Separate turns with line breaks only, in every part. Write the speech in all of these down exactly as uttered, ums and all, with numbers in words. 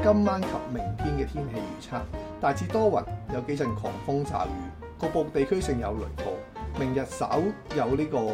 今晚及明天嘅天氣預測，大致多雲，有幾陣狂風驟雨，局部地區性有雷暴。明日稍有呢、這個，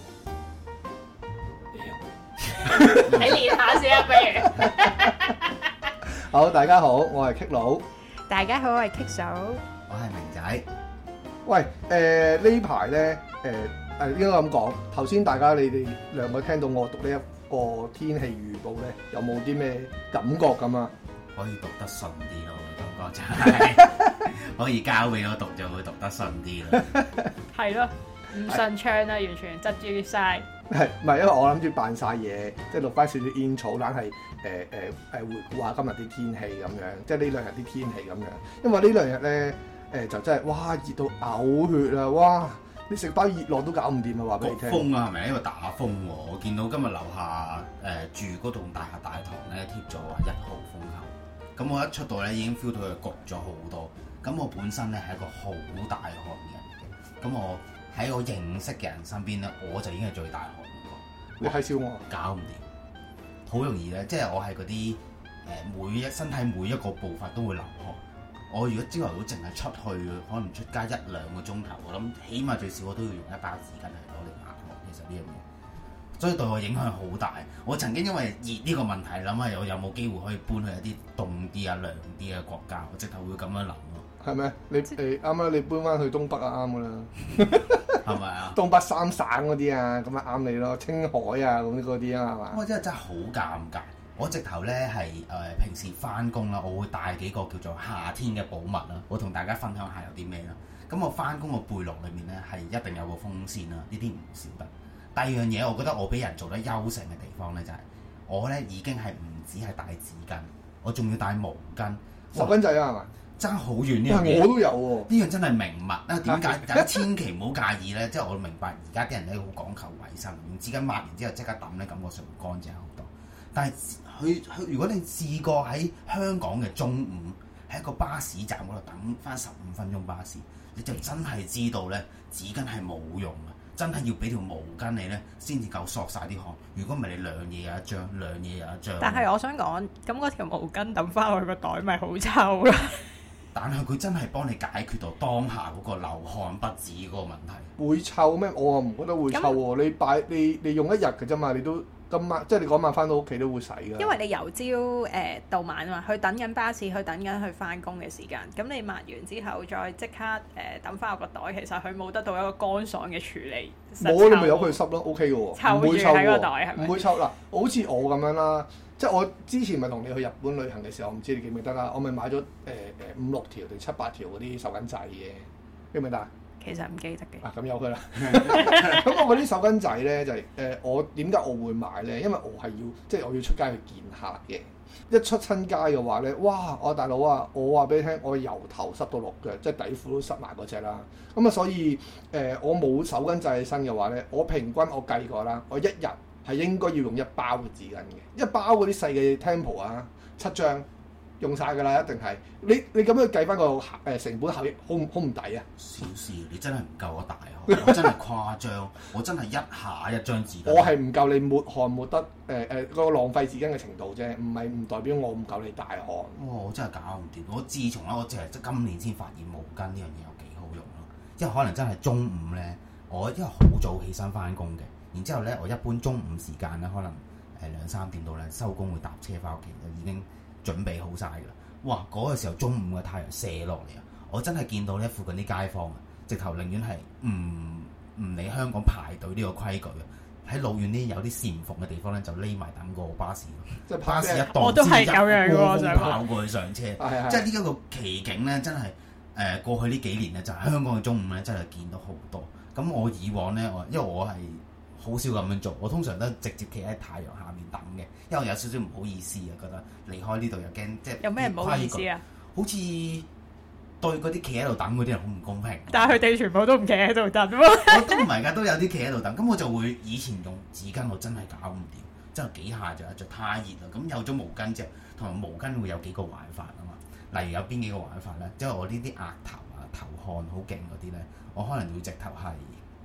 你練下先啊，不如。
好，大家好，我係 Kick 佬。
大家好，我係 Kick 嫂。
我係明仔。
喂，誒、呃、呢排咧，誒誒應該咁講，頭先大家你哋兩個聽到我讀呢一個天氣預報咧，有冇啲咩感覺咁啊？
可以讀得順啲咯，感覺就係可以交俾我讀就會讀得順啲咯。
係咯，唔順暢啦，完全窒住晒。
係，唔係因為我諗住扮晒嘢，即係錄翻少少煙草，但係誒誒誒回顧下今日啲天氣咁樣，即係呢兩日啲天氣咁樣。因為呢兩日咧誒就真係哇熱到嘔血啊！哇，你食包熱浪都搞唔掂啊！話俾你聽。
風啊，係咪因為打風喎？我見到今日樓下誒、呃、住嗰棟大廈大堂咧貼咗話一號風球，咁我一出到咧已經 feel 到佢焗咗好多。咁我本身咧係一個好大汗嘅人嘅，咁我喺我認識嘅人身邊咧，我就已經係最大汗嗰個。
你係笑我？
搞唔掂，好容易咧，即係我係嗰啲誒每一身體每一個部分都會流汗。我如果朝頭早淨係出去，可能出街一兩個鐘頭，我諗起碼最少我都要用一包紙巾去攞嚟抹汗。其實呢樣嘢，所以對我影響好大。我曾經因為熱呢個問題諗下，我有冇機會可以搬去一啲凍啲啊、涼啲嘅國家，我直頭會咁樣諗咯。
係咪？你誒啱啱你搬翻去東北啊，啱噶啦。
係咪啊？
東北三省嗰啲啊，咁啊啱你咯。青海啊，咁嗰啲啊，係嘛？
我真係真係好尷尬。我直頭咧係誒平時翻工啦，我會帶幾個叫做夏天嘅寶物啦。我同大家分享下有啲咩啦。咁我翻工個背囊裏面咧係一定有個風扇啦，呢啲唔少得。第二樣嘢，我覺得我俾人做得優勝嘅地方咧就係、是、我咧已經係唔止係帶紙巾，我仲要帶毛巾。
手巾仔啊，係嘛？
爭好遠呢樣嘢，
我都有喎、啊。
呢樣真係名物啊！點解？大家千祈唔好介意咧。即係我明白而家啲人咧好講求衞生，用紙巾抹完之後即刻抌咧，感覺上會乾淨好多。但係佢佢，如果你試過喺香港嘅中午喺一個巴士站嗰度等翻十五分鐘巴士，你就真係知道咧紙巾係冇用嘅，真係要俾條毛巾你咧先至夠索晒啲汗。如果唔係你兩嘢有一張，兩嘢有一張。
但係我想講，咁嗰條毛巾抌翻我個袋咪好臭咯。
但係佢真係幫你解決到當下嗰個流汗不止嗰個問題。
會臭咩？我啊唔覺得會臭喎。那你擺你你用一日嘅啫嘛，你都今晚即係你嗰晚翻到屋企都會洗㗎。
因為你由朝誒、呃、到晚啊嘛，去等緊巴士，去等緊去翻工嘅時間。咁你抹完之後再即刻誒抌翻我個袋，其實佢冇得到一個乾爽嘅處理。
冇，你咪由佢濕咯 ，OK 嘅喎，唔會臭喎，唔會臭嗱。好似我咁樣啦。即係我之前咪同你去日本旅行嘅時候，我唔知你記唔記得啦。我咪買咗誒誒五六條定七八條嗰啲手巾仔嘅，記唔記得啊？
其實唔記得嘅。
啊，咁有佢啦。咁我嗰啲手巾仔咧就係、是、誒、呃，我點解我會買咧？因為我係要即係我要出街去見客嘅。一出親街嘅話咧，哇！我大佬啊，我話俾你聽，我由頭濕到落腳，即係底褲都濕埋嗰隻啦。咁啊，所以誒、呃，我冇手巾仔喺身嘅話咧，我平均我計過啦，我一日係應該要用一包嘅紙巾嘅，一包嗰啲細嘅 Tempo 啊，七張用晒㗎啦，一定係。你你咁樣計翻個誒成本效益，好唔好唔抵啊？
小事，你真係唔夠我大汗，我真係誇張，我真係一下一張紙巾。
我係唔夠你抹汗抹得誒誒嗰個浪費紙巾嘅程度啫，唔係唔代表我唔夠你大汗。哇！
我真係搞唔掂。我自從咧，我淨係即今年先發現毛巾呢樣嘢有幾好用咯。因為可能真係中午咧，我因為好早起身翻工嘅。然之後咧，我一般中午時間咧，可能誒兩三點到咧收工會搭車翻屋企，就已經準備好晒㗎啦。哇！嗰、那個時候中午嘅太陽射落嚟啊，我真係見到咧附近啲街坊啊，直頭寧願係唔唔理香港排隊呢個規矩啊，喺老遠啲有啲禪縫嘅地方咧，就匿埋等個巴士。即係巴士一到，
我都係咁樣嘅，
就跑過去上車。即係呢一個奇景咧，真係誒、呃、過去呢幾年咧，就係、是、香港嘅中午咧，真係見到好多。咁我以往咧，我因為我係好少咁樣做，我通常都直接企喺太陽下面等嘅，因為我有少少唔好意思啊，覺得離開呢度又驚即係
有咩唔好意思啊？
好似對嗰啲企喺度等嗰啲人好唔公平。
但係佢哋全部都唔企喺度等喎。
我都唔係㗎，都有啲企喺度等。咁我就會以前用紙巾，我真係搞唔掂，真係幾下就就太熱啦。咁有咗毛巾之後，同埋毛巾會有幾個玩法啊嘛。例如有邊幾個玩法咧？即係我呢啲額頭啊、頭汗好勁嗰啲咧，我可能會直頭係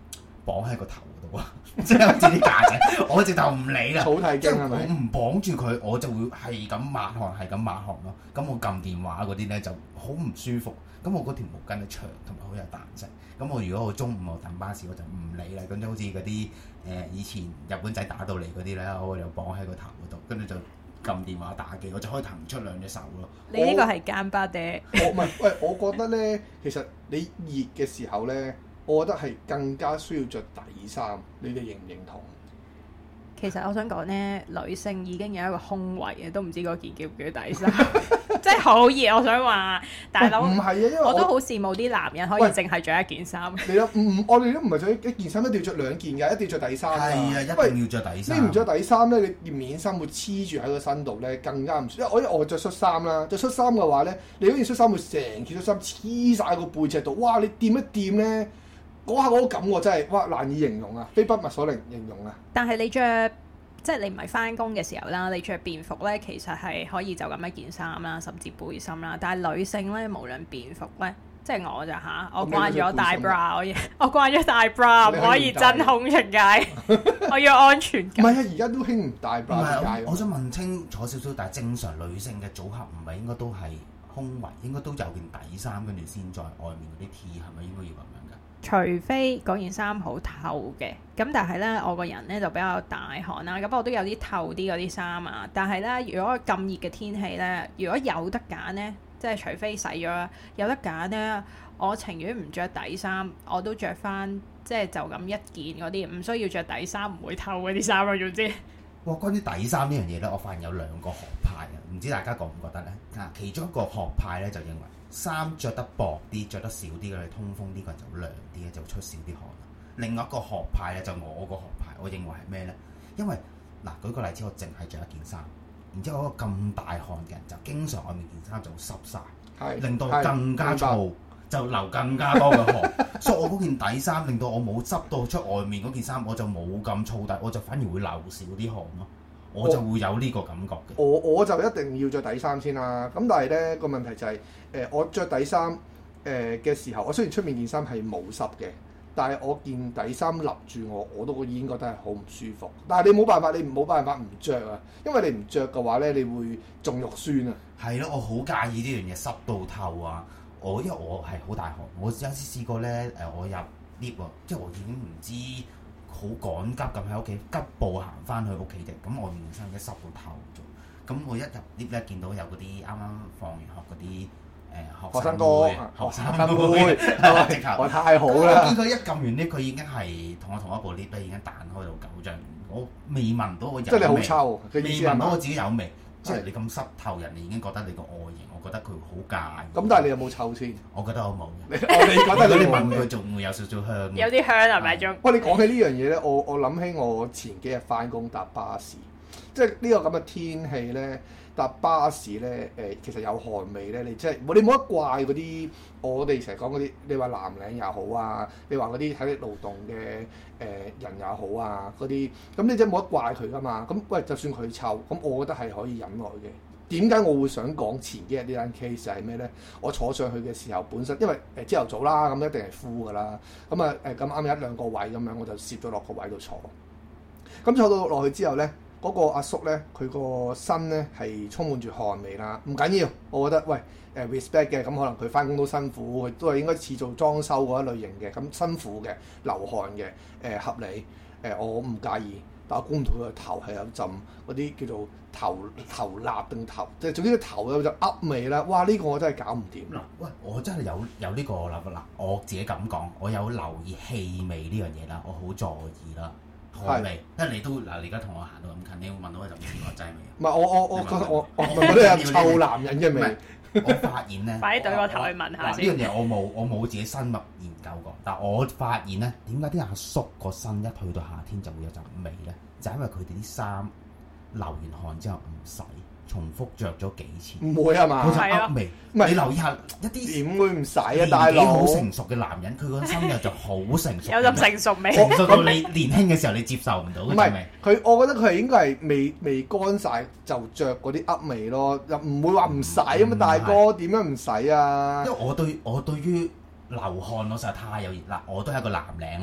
綁喺個頭度啊，即係好似啲架仔，我直頭唔理啦。
草剃經係咪？
我唔綁住佢，我就會係咁抹汗，係咁抹汗咯。咁我撳電話嗰啲咧就好唔舒服。咁我嗰條毛巾咧長同埋好有彈性。咁我如果我中午我等巴士，我就唔理啦。咁就好似嗰啲誒以前日本仔打到嚟嗰啲咧，我就綁喺個頭嗰度，跟住就撳電話打機，我就可以騰出兩隻手咯。
你呢個係奸巴爹。
我唔係，喂，我覺得咧，其實你熱嘅時候咧，我覺得係更加需要着底衫。你哋認唔認同？
其實我想講咧，女性已經有一個胸圍嘅，都唔知嗰件叫唔叫底衫，即係好熱。我想話，大佬
唔係啊，因為我，
我都好羨慕啲男人可以淨係着一件衫。
你諗唔？我哋都唔係着一件衫，一定要着兩件㗎，一定要着底衫㗎。
係啊，一定要着底衫。
你唔着底衫咧，你面衫會黐住喺個身度咧，更加唔舒服。因為我因為我着恤衫啦，着恤衫嘅話咧，你嗰件恤衫會成件恤衫黐晒個背脊度，哇！你掂一掂咧。嗰下嗰個感覺真係哇難以形容啊，非筆墨所能形容啊！
但係你着即係你唔係翻工嘅時候啦，你着便服咧，其實係可以就咁一件衫啦，甚至背心啦。但係女性咧，無論便服咧，即係我就嚇，我慣咗戴 bra，我我慣咗戴 bra，唔可以真空出街，我要安全感。
唔係啊，而家都興唔戴 bra 出街。
我想問清楚少少，但係正常女性嘅組合唔係應該都係胸圍，應該都有件底衫，跟住先在外面嗰啲 T， 係咪應該要咁樣㗎？
除非嗰件衫好透嘅，咁但係咧，我個人咧就比較大汗啦，咁我都有啲透啲嗰啲衫啊。但係咧，如果咁熱嘅天氣咧，如果有得揀咧，即係除非洗咗，有得揀咧，我情願唔着底衫，我都着翻即係就咁一件嗰啲，唔需要着底衫，唔會透嗰啲衫啊，總之。
哇！關於底衫呢樣嘢咧，我發現有兩個學派啊，唔知大家覺唔覺得咧？啊，其中一個學派咧就認為衫着得薄啲、着得少啲嘅，通風啲個人就涼啲嘅，就會出少啲汗。另外一個學派咧就我個學派，我認為係咩咧？因為嗱，舉個例子，我淨係着一件衫，然之後嗰個咁大汗嘅人就經常外面件衫就會濕晒，令到更加燥，就流更加多嘅汗。所以我嗰件底衫令到我冇濕到出外面嗰件衫，我就冇咁燥底，我就反而會流少啲汗咯。我就會有呢個感覺嘅。我
我就一定要着底衫先啦。咁但係咧個問題就係、是、誒、呃，我着底衫誒嘅時候，我雖然出面件衫係冇濕嘅，但係我件底衫笠住我，我都已經覺得係好唔舒服。但係你冇辦法，你冇辦法唔着啊，因為你唔着嘅話咧，你會仲肉酸啊。
係咯，我好介意呢樣嘢濕到透啊！我因為我係好大汗，我有一次試過咧誒，我入 lift 喎，即係我已經唔知。好趕急咁喺屋企急步行翻去屋企嘅，咁我面身已經濕到透咗。咁我一入 lift 咧，見到有嗰啲啱啱放完學嗰啲誒學生哥、學生妹，直頭我太好啦！見佢一撳完 lift，佢已經係同我同一部 lift 咧，已經彈開到九張。我未聞到我有味，
即係你好臭，
未聞到我自己有味。即係你咁濕透，人哋已經覺得你個外形，我覺得佢好介意。咁
但係你有冇臭先？
我覺得我冇嘅。
你我你覺得你
聞佢仲會有少少香？
有啲香係咪仲？
喂，你講起呢樣嘢咧，我我諗起我前幾日翻工搭巴士，即係呢個咁嘅天氣咧，搭巴士咧誒，其實有汗味咧，你即係你冇得怪嗰啲我哋成日講嗰啲，你話藍領又好啊，你話嗰啲體力勞動嘅誒人又好啊，嗰啲咁你真係冇得怪佢噶嘛。咁喂，就算佢臭，咁我覺得係可以忍耐嘅。點解我會想講前幾日呢單 case 係咩咧？我坐上去嘅時候，本身因為誒朝頭早啦，咁一定係 full 噶啦。咁啊誒咁啱有一兩個位咁樣，我就攝咗落個位度坐。咁坐到落去之後咧，嗰、嗰個阿叔咧，佢個身咧係充滿住汗味啦。唔緊要，我覺得喂誒、呃、respect 嘅，咁可能佢翻工都辛苦，佢都係應該似做裝修嗰一類型嘅，咁辛苦嘅流汗嘅誒、呃、合理誒、呃，我唔介意。但我估唔到佢個頭係有浸嗰啲叫做頭頭蠟定頭，即係總之個頭有陣噏味啦。哇！呢、呢個我真係搞唔掂。
嗱，喂，我真係有有呢個諗法啦。我自己咁講，我有留意氣味呢樣嘢啦，我好在意啦。汗味，因為你都嗱，你而家同我行到咁近，你會聞到我就唔知我劑味。唔係我我我覺得我我覺得有臭男人嘅味。 我發現咧，
快啲對個頭去聞下先。
呢樣嘢我冇我冇自己深入研究過，但係我發現咧，點解啲阿叔個身一去到夏天就會有陣味咧？就係因為佢哋啲衫流完汗之後唔洗，重複着咗幾次。唔
會啊嘛？
佢就噏味。唔係你留意下一啲
點會唔洗啊？大佬
好成熟嘅男人，佢個身又就好成熟。
有陣成熟味。
成熟到你年輕嘅時候你接受唔到嗰種味。
佢，我覺得佢係應該係未未乾晒就着嗰啲噏味咯，又唔會話唔洗啊嘛，大哥點樣唔洗啊？
因為我對我對於流汗我實在太有熱啦，我都係一個藍領啦。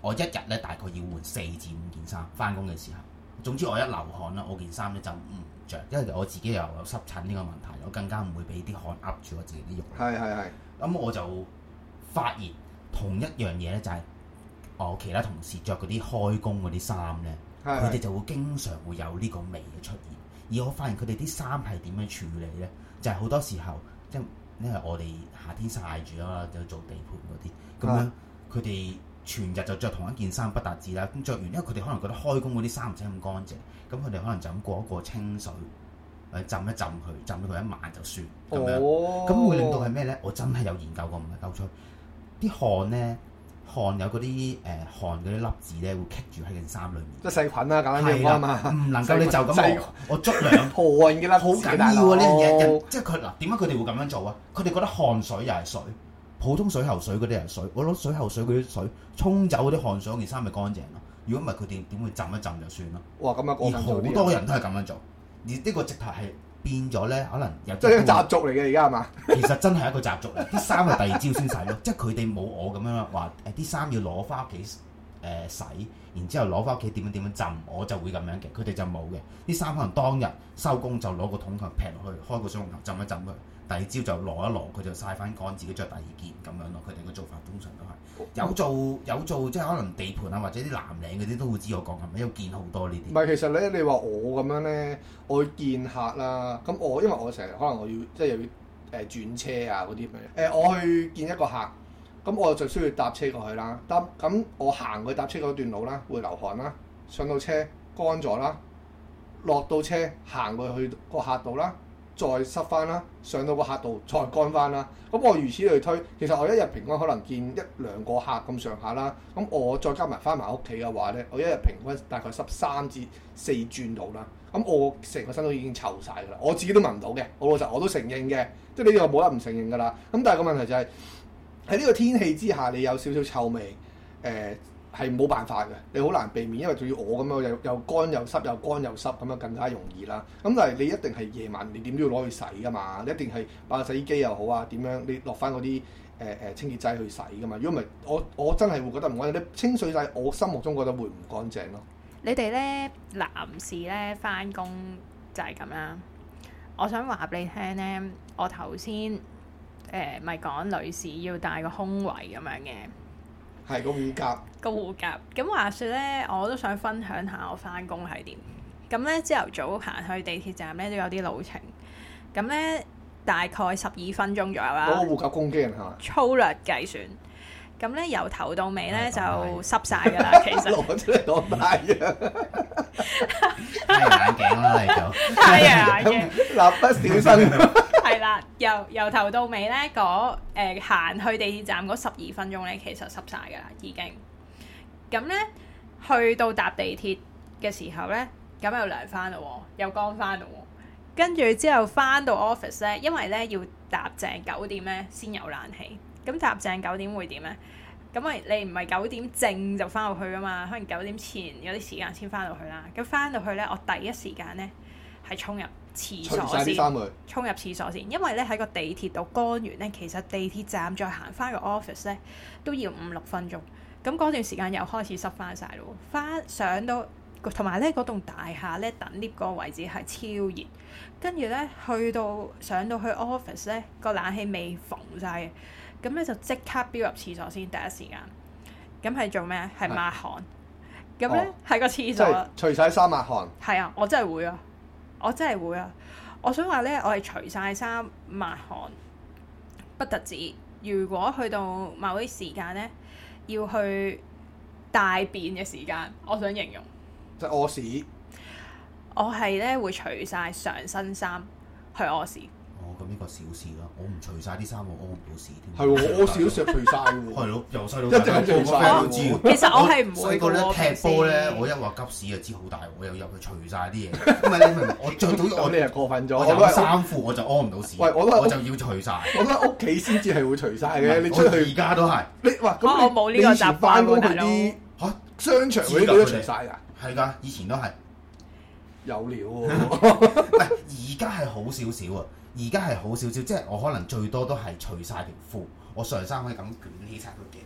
我一日咧大概要換四至五件衫，翻工嘅時候。總之我一流汗啦，我件衫咧就唔着，因為我自己又有濕疹呢個問題，我更加唔會俾啲汗噏住我自己啲肉。
係係係。咁
我就發現同一樣嘢咧，就係我其他同事着嗰啲開工嗰啲衫咧，佢哋就會經常會有呢個味嘅出現。而我發現佢哋啲衫係點樣處理咧？就係、是、好多時候，即係因為我哋夏天曬住啦，就做地盤嗰啲，咁樣佢哋全日就着同一件衫不特止啦。咁着完，因為佢哋可能覺得開工嗰啲衫唔使咁乾淨，咁佢哋可能就咁過一過清水，誒浸一浸佢，浸到佢一晚就算咁樣。咁、哦、會令到係咩咧？我真係有研究過，唔係鳩吹。啲汗咧，汗有嗰啲誒汗嗰啲粒子咧，會棘住喺件衫裏面。即係細菌啦，簡單啲講啊嘛。唔能夠你就咁我我捽兩汗嘅粒，好緊要啊！呢樣嘢，即係佢嗱點解佢哋會咁樣做啊？佢哋覺得汗水又係水，普通水喉水嗰啲係水，我攞水喉水嗰啲水沖走嗰啲汗水，件衫咪乾淨咯。如果唔係，佢哋點會浸一浸就算咯？哇！咁啊，而好多人都係咁樣做，而呢個直頭係。變咗咧，可能有即係習俗嚟嘅，而家係嘛？其實真係一個習俗嚟，啲衫係第二朝先洗咯。即係佢哋冇我咁樣話誒，啲衫要攞翻屋企誒洗，然之後攞翻屋企點樣點樣浸，我就會咁樣嘅。佢哋就冇嘅，啲衫可能當日收工就攞個桶頭劈落去，開個水龍頭浸一浸佢，第二朝就攞一攞，佢就曬翻乾，自己着第二件咁樣咯。佢哋嘅做法通常都係有做有做，即係可能地盤啊或者啲藍領嗰啲都會知我講係咪，因為見好多呢啲。唔係，其實咧，你話我咁樣咧，我去見客啦，咁我因為我成日可能我要即係又要誒轉車啊嗰啲咁樣誒，我去見一個客，咁我就需要搭車過去啦。搭咁我行去搭車嗰段路啦，會流汗啦，上到車乾咗啦，落到車行過去個客度啦。再濕翻啦，上到個客度再乾翻啦。咁我如此類推，其實我一日平均可能見一兩個客咁上下啦。咁我再加埋翻埋屋企嘅話咧，我一日平均大概濕三至四轉度啦。咁我成個身都已經臭晒㗎啦，我自己都聞唔到嘅。我老實我都承認嘅，即係呢個冇得唔承認㗎啦。咁但係個問題就係喺呢個天氣之下，你有少少臭味，誒、呃。係冇辦法嘅，你好難避免，因為仲要我咁樣又又乾又濕又乾又濕咁樣更加容易啦。咁但係你一定係夜晚，你點都要攞去洗噶嘛？你一定係擺洗衣機又好啊，點樣你落翻嗰啲誒誒清潔劑去洗噶嘛？如果唔係，我我真係會覺得唔乾淨。你清水劑，我心目中覺得會唔乾淨咯。你哋咧男士咧翻工就係咁啦。我想話俾你聽咧，我頭先誒咪講女士要帶個胸圍咁樣嘅。係個護甲，個護甲。咁話說咧，我都想分享下我翻工係點。咁咧朝頭早行去地鐵站咧都有啲路程。咁咧大概十二分鐘左右啦。嗰個護甲攻擊人係嘛？粗略計算。咁咧由頭到尾咧就濕晒㗎啦，其實。攞出嚟攞太陽。太陽眼鏡啦，嚟就。太陽眼鏡。蠟筆小新。係啦，由由頭到尾咧，嗰誒行去地鐵站嗰十二分鐘咧，其實濕晒㗎啦，已經。咁咧去到搭地鐵嘅時候咧，咁又涼翻咯，又乾翻咯。跟住之後翻到 office 咧，因為咧要搭正九點咧先有冷氣。咁搭正九點會點咧？咁咪你唔係九點正就翻到去㗎嘛？可能九點前有啲時間先翻到去啦。咁翻到去咧，我第一時間咧係衝入廁所先，衝入廁所先，因為咧喺個地鐵度乾完咧，其實地鐵站再行翻個 office 咧都要五六分鐘。咁嗰段時間又開始濕翻晒咯，翻上到同埋咧嗰棟大廈咧等 lift 嗰個位置係超熱，跟住咧去到上到去 office 咧個冷氣未縫晒嘅。咁咧就即刻飆入廁所先，第一時間。咁係做咩？係抹汗。咁咧喺個廁所，除晒衫抹汗。係啊，我真係會啊，我真係會啊。我想話咧，我係除晒衫抹汗，不特止。如果去到某啲時間咧，要去大便嘅時間，我想形容。即係屙屎。我係咧會除晒上身衫去屙屎。哦，咁呢個小事啦，我唔除晒啲衫，我屙唔到屎添。係喎，我屙屎都成日除晒喎。係咯，由細到大一直除晒都知。其實我係唔會嘅喎。細個咧踢波咧，我一話急屎就知好大鑊，我又入去除晒啲嘢。唔係你明唔明？我着到我你係過分咗。我有衫褲我就屙唔到屎。喂，我都我就要除晒。我覺得屋企先至係會除晒嘅。你出去而家都係。你哇咁我冇呢個習慣喎，大佬。嚇，商場嗰啲都除晒㗎。係㗎，以前都係。有料喎。唔係，而家係好少少啊。而家係好少少，即係我可能最多都係除晒條褲，我上衫可以咁捲起晒佢嘅。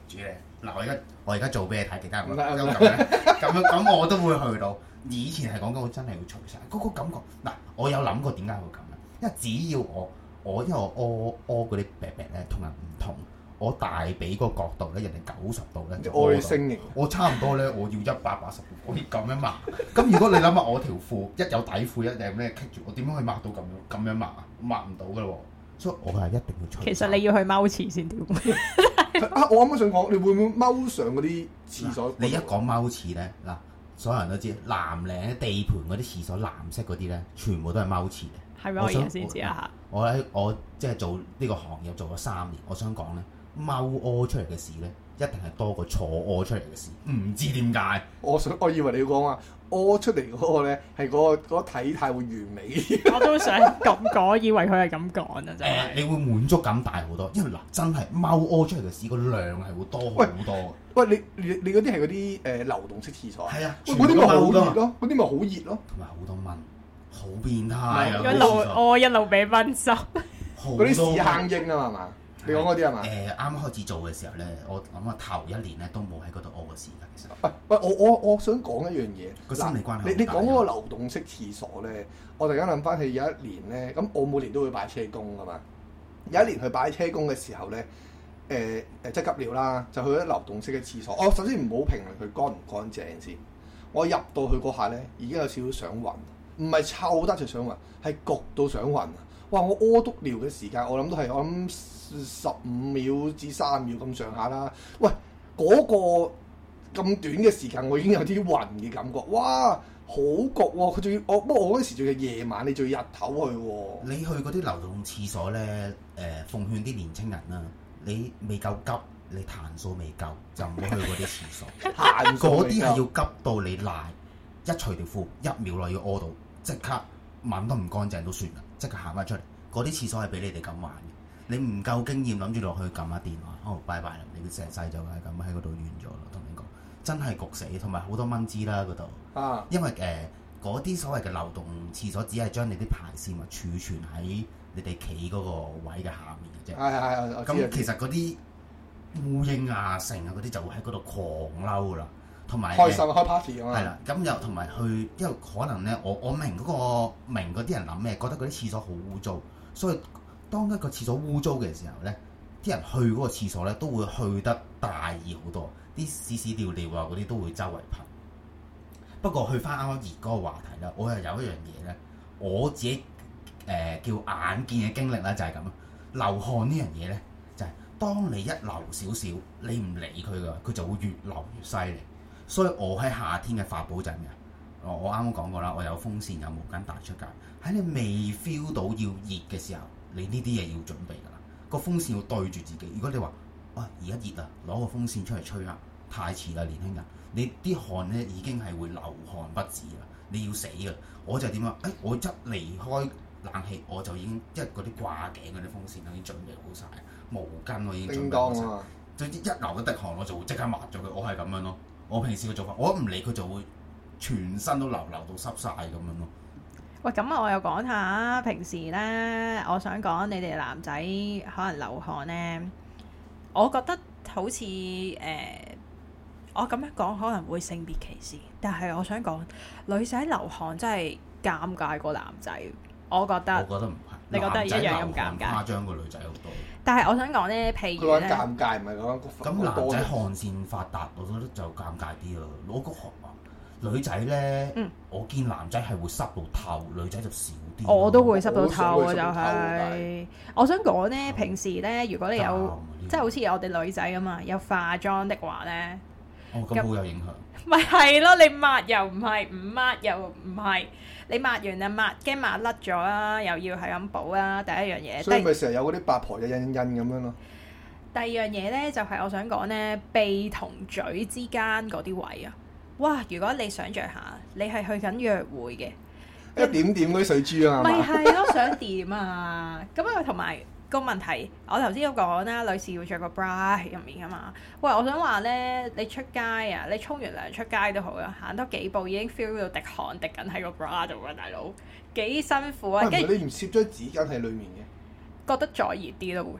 住咧。嗱，我而家我而家做俾你睇，其他咁
唔
樣
係唔係
咁樣咁樣咁我都會去到。以前係講緊我真係會除晒嗰個感覺。嗱，我有諗過點解會咁啊？因為只要我我因為我屙屙嗰啲病病咧同人唔同，我大髀個角度咧，人哋九十度咧，
外星型，
我差唔多咧，我要一百八十度，我要咁樣抹。咁如果你諗下我條褲一有底褲一定咩棘住，我點樣可以抹到咁樣咁樣抹啊？抹唔到噶咯喎，所以我係一定要除。
其實你要去踎廁先屌。
啊！我啱啱想講，你會唔會踎上嗰啲廁所？
你一講踎廁咧，嗱，所有人都知藍領地盤嗰啲廁所藍色嗰啲咧，全部都係踎廁嘅。
係咪？我而家先知啊！
我喺我即係做呢個行業做咗三年，我想講咧，踎屙出嚟嘅事咧，一定係多過坐屙出嚟嘅事。唔知點解？
我想，我以為你要講話屙出嚟嗰個咧係嗰個嗰個體態會完美。
我都想咁講，以為佢係咁講啊！真係、
呃。你會滿足感大好多，因為嗱，真係踎屙出嚟嘅屎個量係會多好多。
喂，你你你嗰啲係嗰啲誒流動式廁所啊？
係啊，
嗰啲咪好熱咯，嗰啲咪好熱咯，
同埋好多蚊，好變態啊！
一路屙一路俾蚊濕，
嗰啲屎坑英啊嘛，你講嗰啲係嘛？
誒，啱啱開始做嘅時候咧，我諗啊頭一年咧都冇喺嗰度屙過屎㗎，其實。
喂喂，我我我想講一樣嘢，
個心理關係。
你你講嗰個流動式廁所咧，我突然間諗翻起有一年咧，咁我每年都會擺車工㗎嘛。有一年去擺車工嘅時候咧，誒誒即係急尿啦，就去咗流動式嘅廁所。我首先唔好評論佢乾唔乾淨先。我入到去嗰下咧，已經有少少想暈，唔係臭得就想暈，係焗到想暈。哇！我屙督尿嘅時間，我諗都係我諗十五秒至三秒咁上下啦。喂，嗰、那個咁短嘅時間，我已經有啲暈嘅感覺。哇！好焗喎、啊，佢仲要我，不過我嗰時仲要夜晚，你仲要日頭去喎、啊。
你去嗰啲流動廁所咧，誒、呃、奉勸啲年青人啦，你未夠急，你彈數未夠，就唔好去嗰啲廁所。
彈數
嗰啲係要急到你賴，一除條褲一秒內要屙到，即刻吻都唔乾淨都算啦，即刻行翻出嚟。嗰啲廁所係俾你哋咁玩嘅，你唔夠經驗諗住落去撳下電話，哦拜拜啦，你成世就係咁喺嗰度完咗啦，同你講。真係焗死，同埋好多蚊滋啦嗰度。啊！因為誒嗰啲所謂嘅流動廁所，只係將你啲排泄物儲存喺你哋企嗰個位嘅下面嘅啫。係係係。咁其實嗰啲烏蠅啊、成啊嗰啲就會喺嗰度狂嬲啦，同埋開心開 party 啊嘛。係啦，咁又同埋去，因為可能咧，我我明嗰、嗰個明嗰啲人諗咩，覺得嗰啲廁所好污糟，所以當一個廁所污糟嘅時候咧，啲人去嗰個廁所咧都會去得大意好多。啲屎屎尿尿啊嗰啲都會周圍噴。不過去翻啱啱熱嗰個話題啦，我又有一樣嘢咧，我自己誒、呃、叫眼見嘅經歷咧就係咁啊。流汗呢樣嘢咧，就係、是、當你一流少少，你唔理佢噶，佢就會越流越犀利。所以我喺夏天嘅法寶就係咩啊？我我啱啱講過啦，我有風扇有毛巾帶出街。喺你未 feel 到要熱嘅時候，你呢啲嘢要準備㗎啦。個風扇要對住自己。如果你話哇而家熱啊，攞個風扇出嚟吹啊，太遲啦，年輕人！你啲汗咧已經係會流汗不止啦，你要死㗎！我就點啊？誒、哎，我一離開冷氣，我就已經即係嗰啲掛頸嗰啲風扇已經準備好晒，毛巾我已經準備好晒。總之一流一滴汗，我就會即刻抹咗佢。我係咁樣咯。我平時嘅做法，我唔理佢就會全身都流流到濕晒咁樣咯。
喂，咁我又講下平時咧，我想講你哋男仔可能流汗咧，我覺得好似誒。呃我咁樣講可能會性別歧視，但係我想講女仔流汗真係尷尬過男仔，我覺得。我覺得唔係，你覺得一樣咁尷尬？誇張過女仔好多。但係我想講咧，譬如咧，
佢話尷尬唔係講
咁男仔汗腺發達，我覺得就尷尬啲咯。攞個汗啊，女仔咧，嗯、我見男仔係會濕到透，女仔就少啲。
我都會濕到透啊，就係、是。我想講咧，平時咧，如果你有即係好似我哋女仔咁嘛，有化妝的話咧。
哦，咁好有影響。
咪係咯，你抹又唔係，唔抹又唔係，你抹完啊抹，驚抹甩咗啦，又要係咁補啦。第一樣嘢，
所以咪成日有嗰啲八婆嘅印印咁樣咯。
第二樣嘢咧，就係、是、我想講咧，鼻同嘴之間嗰啲位啊，哇！如果你想像下，你係去緊約會嘅，
一點點嗰啲水珠啊，
咪係咯，想點啊？咁啊，同埋。個問題，我頭先都講啦，女士要着個 bra 喺入面噶嘛。喂，我想話咧，你出街啊，你沖完涼出街都好啦，行多幾步已經 feel 到滴汗滴緊喺個 bra 度啊，大佬幾辛苦啊！跟住、
啊、你唔攝咗紙巾喺裡面嘅，
覺得再熱啲咯會。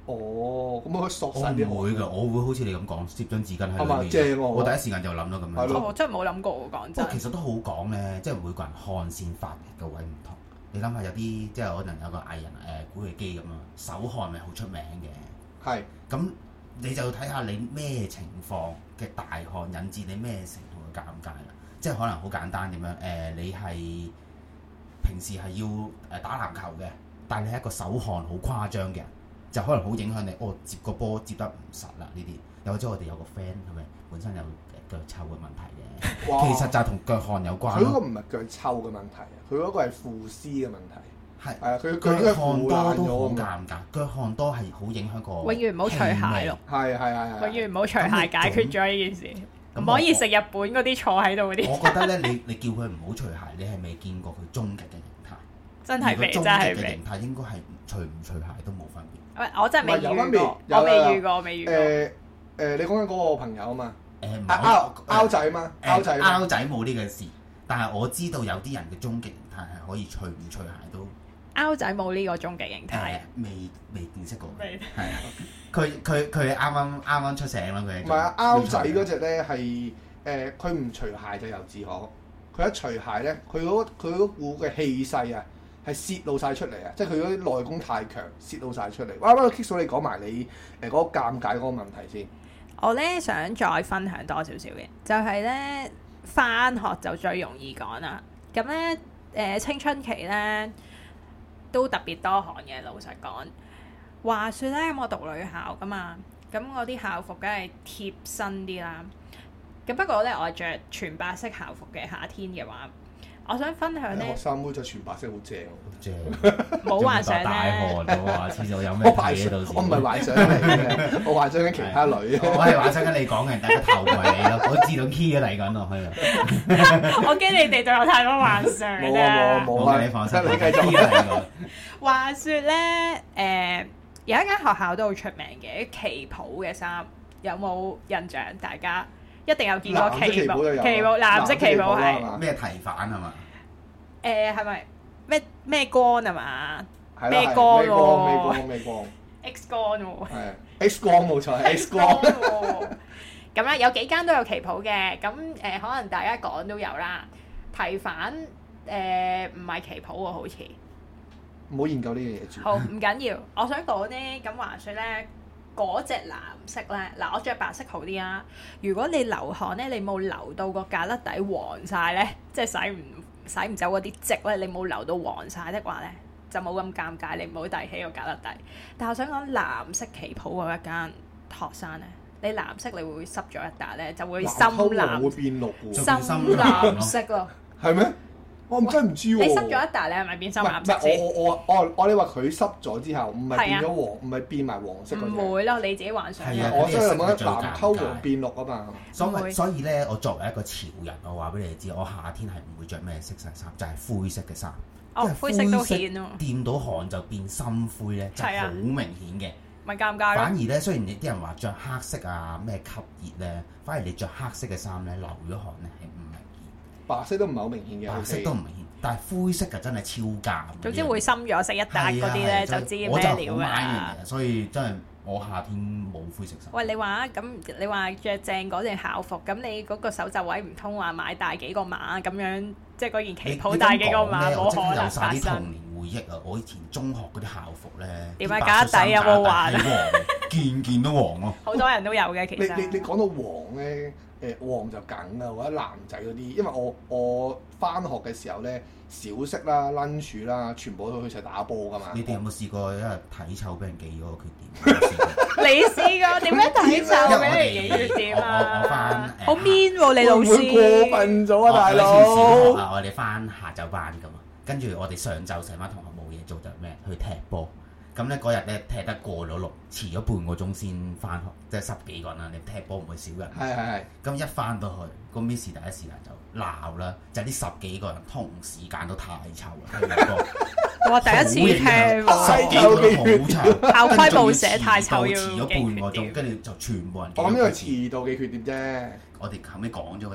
哦，咁我索晒啲汗。
我唔會㗎，我會好似你咁講，攝張紙巾喺裏面。
正喎！
我第一時間就諗到咁樣。
我真係冇諗過喎，講真。
其實都好講咧，即係每個人汗腺發嘅位唔同。你諗下有啲即係可能有個藝人誒古巨基咁啊，手汗咪好出名嘅。係。咁你就睇下你咩情況嘅大汗引致你咩程度嘅尷尬啦。即係可能好簡單點樣誒，你係平時係要誒打籃球嘅，但係你係一個手汗好誇張嘅人。就可能好影響你，哦接個波接得唔實啦呢啲，又或者我哋有個 friend 係咪本身有腳臭嘅問題嘅，哇其實就係同腳汗有關。佢嗰個唔係腳臭嘅問題，佢嗰個係腐絲嘅問題。係係啊，佢佢腳汗多都好尷尬，腳汗多係好影響個。永遠唔好除鞋咯。係係係係。永遠唔好除鞋解決咗呢件事，唔可以食日本嗰啲坐喺度嗰啲。我覺得咧，你你叫佢唔好除鞋，你係未見過佢終極嘅形態。真係未，真係未。終極嘅形態應該係除唔除鞋都冇分別。我真係未遇過，我未遇過，我未遇過。誒誒，你講緊嗰個朋友啊嘛？誒，拗拗仔嘛？拗仔拗仔冇呢個事，但係我知道有啲人嘅終極形態係可以除唔除鞋都。拗仔冇呢個終極形態，未未見識過。係啊，佢佢佢啱啱啱啱出醒啦，佢。唔係啊，拗仔嗰隻咧係誒，佢唔除鞋就由自可，佢一除鞋咧，佢嗰佢嗰股嘅氣勢啊！係泄露晒出嚟啊！即係佢嗰啲內功太強，泄露晒出嚟。哇！不過 Kick 嫂你講埋你誒嗰個尷尬嗰個問題先。我咧想再分享多少少嘅，就係咧返學就最容易講啦。咁咧誒青春期咧都特別多汗嘅，老實講。話說咧，我讀女校噶嘛，咁我啲校服梗係貼身啲啦。咁不過咧，我係著全白色校服嘅夏天嘅話。我想分享咧，學生妹就全白色好正，好正，冇幻想咧。大汗喎，話遲早有咩睇喺度先。我唔係幻想嚟嘅，我幻想緊其他女。我係幻想緊你講嘅，但係個頭唔係你咯，我自動 key 咗嚟緊落去啦。我驚你哋對我太多幻想啦。冇啊冇啊，你放心，你繼續 key 嚟個。話説咧，誒有一間學校都好出名嘅旗袍嘅衫，有冇印象？大家？一定有見過旗袍，旗袍藍色旗袍係咩提反係嘛？誒係咪咩咩光啊嘛？咩光喎？咩光咩光 ？X 光喎。係 X 光冇錯，X 光。咁咧有幾間都有旗袍嘅，咁誒可能大家講都有啦。提反誒唔係旗袍喎，好似。唔好研究呢樣嘢住。好唔緊要，我想講咧，咁話説咧。嗰隻藍色咧，嗱我着白色好啲啊！如果你流汗咧，你冇流到個架甩底黃晒咧，即係洗唔洗唔走嗰啲漬咧，你冇流到黃晒的話咧，就冇咁尷尬，你唔好遞起個架甩底。但係我想講藍色旗袍嗰一間學生咧，你藍色你會濕咗一笪咧，就會深藍，會變綠喎，深藍色咯，係咩？我唔真係唔知喎。你濕咗一笪，你係咪變深藍色先？我我我我我你話佢濕咗之後，唔係變咗黃，唔係變埋黃色嗰隻。唔會咯，你自己幻想。係啊，我所以覺得藍溝黃變綠啊嘛。所以所以咧，我作為一個潮人，我話俾你知，我夏天係唔會着咩色嘅衫，就係灰色嘅衫。哦，灰色都顯喎。掂到汗就變深灰咧，就係好明顯嘅。咪尷尬咯。反而咧，雖然啲人話着黑色啊咩吸熱咧，反而你着黑色嘅衫咧，流咗汗咧係唔明顯。白色都唔係好明顯嘅，白色都唔明顯，但係灰色就真係超尷。總之會深咗色一笪嗰啲咧，就知咩料啦。所以真係我夏天冇灰色衫。喂，你話咁你話着正嗰件校服，咁你嗰個手袖位唔通話買大幾個碼咁樣，即係嗰件旗袍大幾個碼冇可能發生。回憶啊！我以前中學嗰啲校服咧，點解架底有冇黃？件件都黃咯。好多人都有嘅，其實。你你你講到黃咧，誒黃就梗啦，或者男仔嗰啲，因為我我翻學嘅時候咧，小息啦、lunch 啦，全部都去齊打波噶嘛。你哋有冇試過因為體臭俾人記嗰個缺點？你試過點樣體臭俾人記缺點啊？我翻好 mean 喎，你老師過分咗啊，大佬！啊，我哋翻下晝班噶嘛。跟住我哋上晝成班同學冇嘢做就咩去踢波，咁咧嗰日咧踢得過咗龍，遲咗半個鐘先翻學，即係十幾個人啦。你踢波唔會少人。係係係。咁一翻到去，個 Miss 第一時間就鬧啦，就係呢十幾個人同時間都太臭啦。我第一次聽喎，十幾個人好臭，校規冇寫太臭要遲咗半個鐘，跟住就全部人。我諗呢個遲到嘅缺點啫。我哋後尾講咗個大話，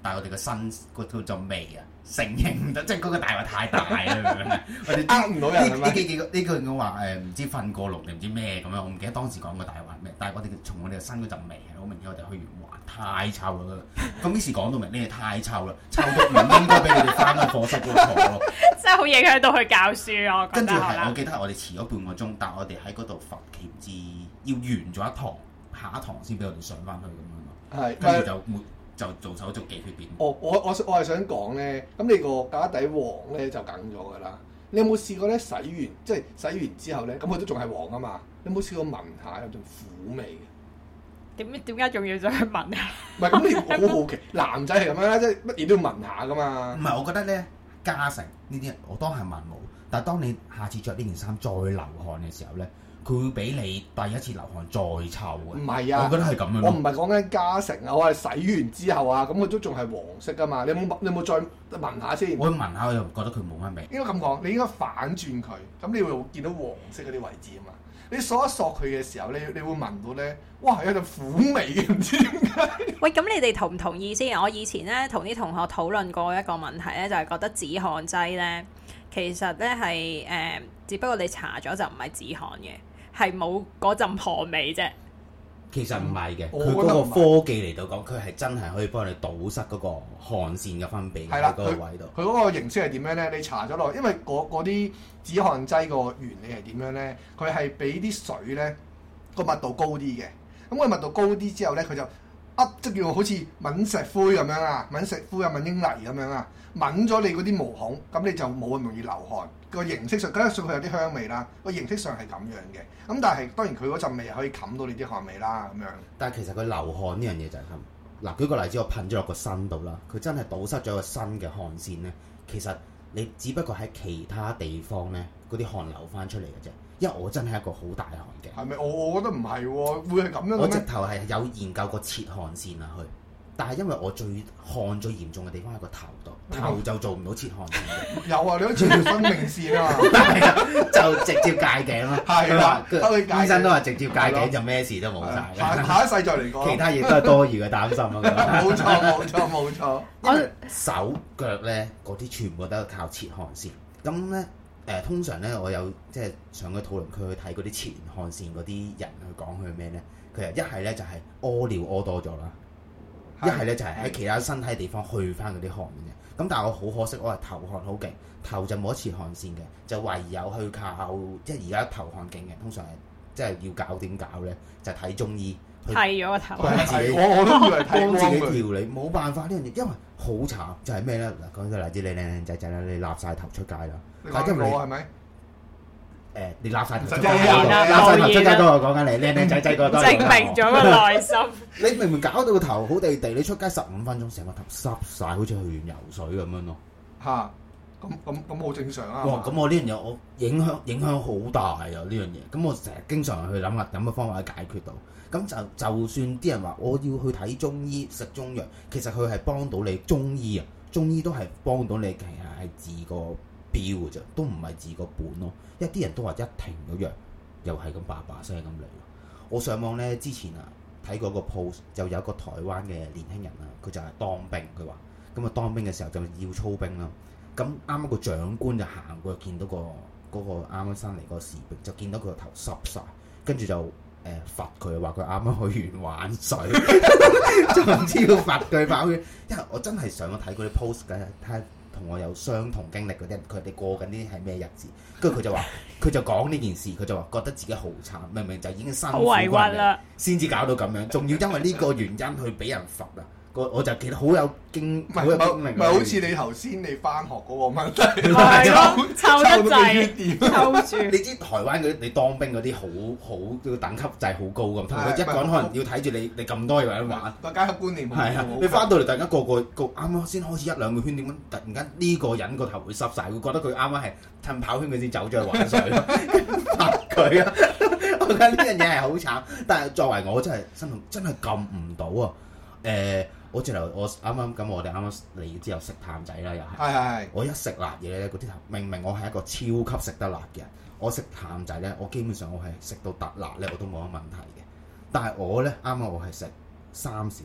但係我哋個身嗰嗰陣味啊，承認唔得，即係嗰個大話太大啦，明唔明？我哋
呃唔到人係咪？
呢幾幾個呢句我話誒唔知瞓過籠定唔知咩咁樣，我唔記得當時講個大話咩，但係我哋從我哋嘅身嗰陣味係好明顯，我哋去完玩太臭啦。咁於是講到明你哋太臭啦，臭到唔應該俾你哋翻去課室嗰度坐咯。
真係好影響到佢教書啊！
跟住係我記得我哋遲咗半個鐘，但係我哋喺嗰度罰企唔知要完咗一堂，下一堂先俾我哋上翻去咁樣咯。
係，
跟住就沒就做手續寄血便。
我我我我係想講咧，咁你個架底黃咧就梗咗㗎啦。你有冇試過咧洗完即係洗完之後咧，咁佢都仲係黃啊嘛？你有冇試過聞下有陣苦味嘅？
點點解仲要再去聞啊？
唔係咁，你好好奇，男仔係咁樣啦，即係乜嘢都要聞下㗎嘛。
唔係，我覺得咧加成呢啲，我當係聞冇。但係當你下次着呢件衫再流汗嘅時候咧，佢會比你第一次流汗再臭嘅。
唔係啊，
我覺得係咁樣。
我唔係講緊加成啊，我係洗完之後啊，咁佢都仲係黃色㗎嘛。你有冇你有冇再聞下先？
我聞下我又覺得佢冇乜味。
應該咁講，你應該反轉佢，咁你會見到黃色嗰啲位置啊嘛。你索一索佢嘅時候，你你會聞到咧，哇有陣苦味嘅，唔知點解。
喂，咁你哋同唔同意先？我以前咧同啲同學討論過一個問題咧，就係、是、覺得止汗劑咧，其實咧係誒，只不過你搽咗就唔係止汗嘅，係冇嗰陣汗味啫。
其實唔係嘅，佢
嗰
嗰個科技嚟到講，佢係真係可以幫你堵塞嗰個汗腺嘅分泌喺嗰個位度。
佢嗰個形式係點樣咧？你搽咗落，因為嗰啲止汗劑個原理係點樣咧？佢係俾啲水咧個密度高啲嘅，咁個密度高啲之後咧，佢就噏即叫好似抿石灰咁樣啊，抿石灰啊，抿英泥咁樣啊，抿咗你嗰啲毛孔，咁你就冇咁容易流汗。個形式上，加上佢有啲香味啦，個形式上係咁樣嘅。咁但係當然佢嗰陣味可以冚到你啲汗味啦，咁樣。
但係其實佢流汗呢樣嘢就係咁。嗱，舉個例子，我噴咗落個身度啦，佢真係堵塞咗個身嘅汗腺咧。其實你只不過喺其他地方咧，嗰啲汗流翻出嚟嘅啫。因為我真係一個好大汗嘅。係咪？我我覺得唔係喎，會係咁樣嘅咩？我直頭係有研究過切汗腺啊，去。但係因為我最汗最嚴重嘅地方喺個頭度，頭就做唔到切汗腺。有啊，你都切條生命線啊！ 係啊，就直接戒頸咯。係啦，醫生都話直接戒頸就咩事都冇晒。
下下一世再嚟講。
其他嘢都係多餘嘅擔心咯。
冇錯，冇錯，冇錯。
因為手腳咧嗰啲全部都係靠切汗腺。咁咧誒，通常咧我有即係上個討論區去睇嗰啲切完汗腺嗰啲人去講佢咩咧？佢係一係咧就係屙尿屙多咗啦。一係咧就係喺其他身體地方去翻嗰啲汗嘅，咁但係我好可惜，我係頭汗好勁，頭就冇得切汗腺嘅，就唯有去靠即係而家頭汗勁嘅，通常係即係要搞點搞咧，就睇中醫
剃咗個頭，
幫自己
我我都以為
幫自己調理，冇辦法呢樣嘢，因為好慘就係咩咧？嗱，講個例子，你靚靚仔仔啦，你立晒頭出街啦，
但因為我係咪？
誒，你立晒頭出街，立晒頭出街都係講緊你靚靚仔仔個多。
證明咗個內心。
你明明搞到個頭好地地，你出街十五分鐘，成個頭濕晒，好似去完游水咁樣咯。嚇！咁咁咁好正常啊。哇！咁我呢樣嘢我影響影響好大啊！呢樣嘢，咁我成日經常去諗下有乜方法去解決到。咁就就算啲人話我要去睇中醫食中藥，其實佢係幫到你中醫啊，中醫都係幫到你，其實係治個標嘅啫，都唔係治個本咯。因為啲人都話一停咗藥，又係咁叭叭聲咁嚟。我上網咧之前啊睇過個 post，就有一個台灣嘅年輕人啊，佢就係當兵，佢話咁啊當兵嘅時候就要操兵啦。咁啱啱個長官就行過，見到個嗰個啱啱新嚟個士兵，就見到佢個頭濕晒，跟住就誒罰佢，話佢啱啱去完玩水，就唔知要罰佢跑去。因為我真係上去睇嗰啲 post 嘅，睇下同我有相同經歷嗰啲人，佢哋過緊啲係咩日子？跟住佢就話，佢就講呢件事，佢就話覺得自己好慘，明明就已經辛苦過嚟，先至搞到咁樣，仲要因為呢個原因去俾人罰啊！我就記得好有經，好有經歷。唔係好似你頭先你翻學嗰個問題，
係咯，抽得滯，抽住。
你知台灣嗰啲你當兵嗰啲好好個等級制好高咁，同佢一個人可能要睇住你你咁多嘢玩。個階級觀念係啊！你翻到嚟，大家個個個啱啱先開始一兩個圈，點解突然間呢個人個頭會濕晒？會覺得佢啱啱係趁跑圈佢先走咗去玩水，罰佢啊！我覺得呢樣嘢係好慘，但係作為我真係真係真係撳唔到啊！誒。我之後我啱啱咁，我哋啱啱嚟之後食淡仔啦，又係。係係。我一食辣嘢咧，嗰啲頭明明我係一個超級食得辣嘅人，我食淡仔咧，我基本上我係食到特辣咧，我都冇乜問題嘅。但係我咧啱啱我係食三小辣，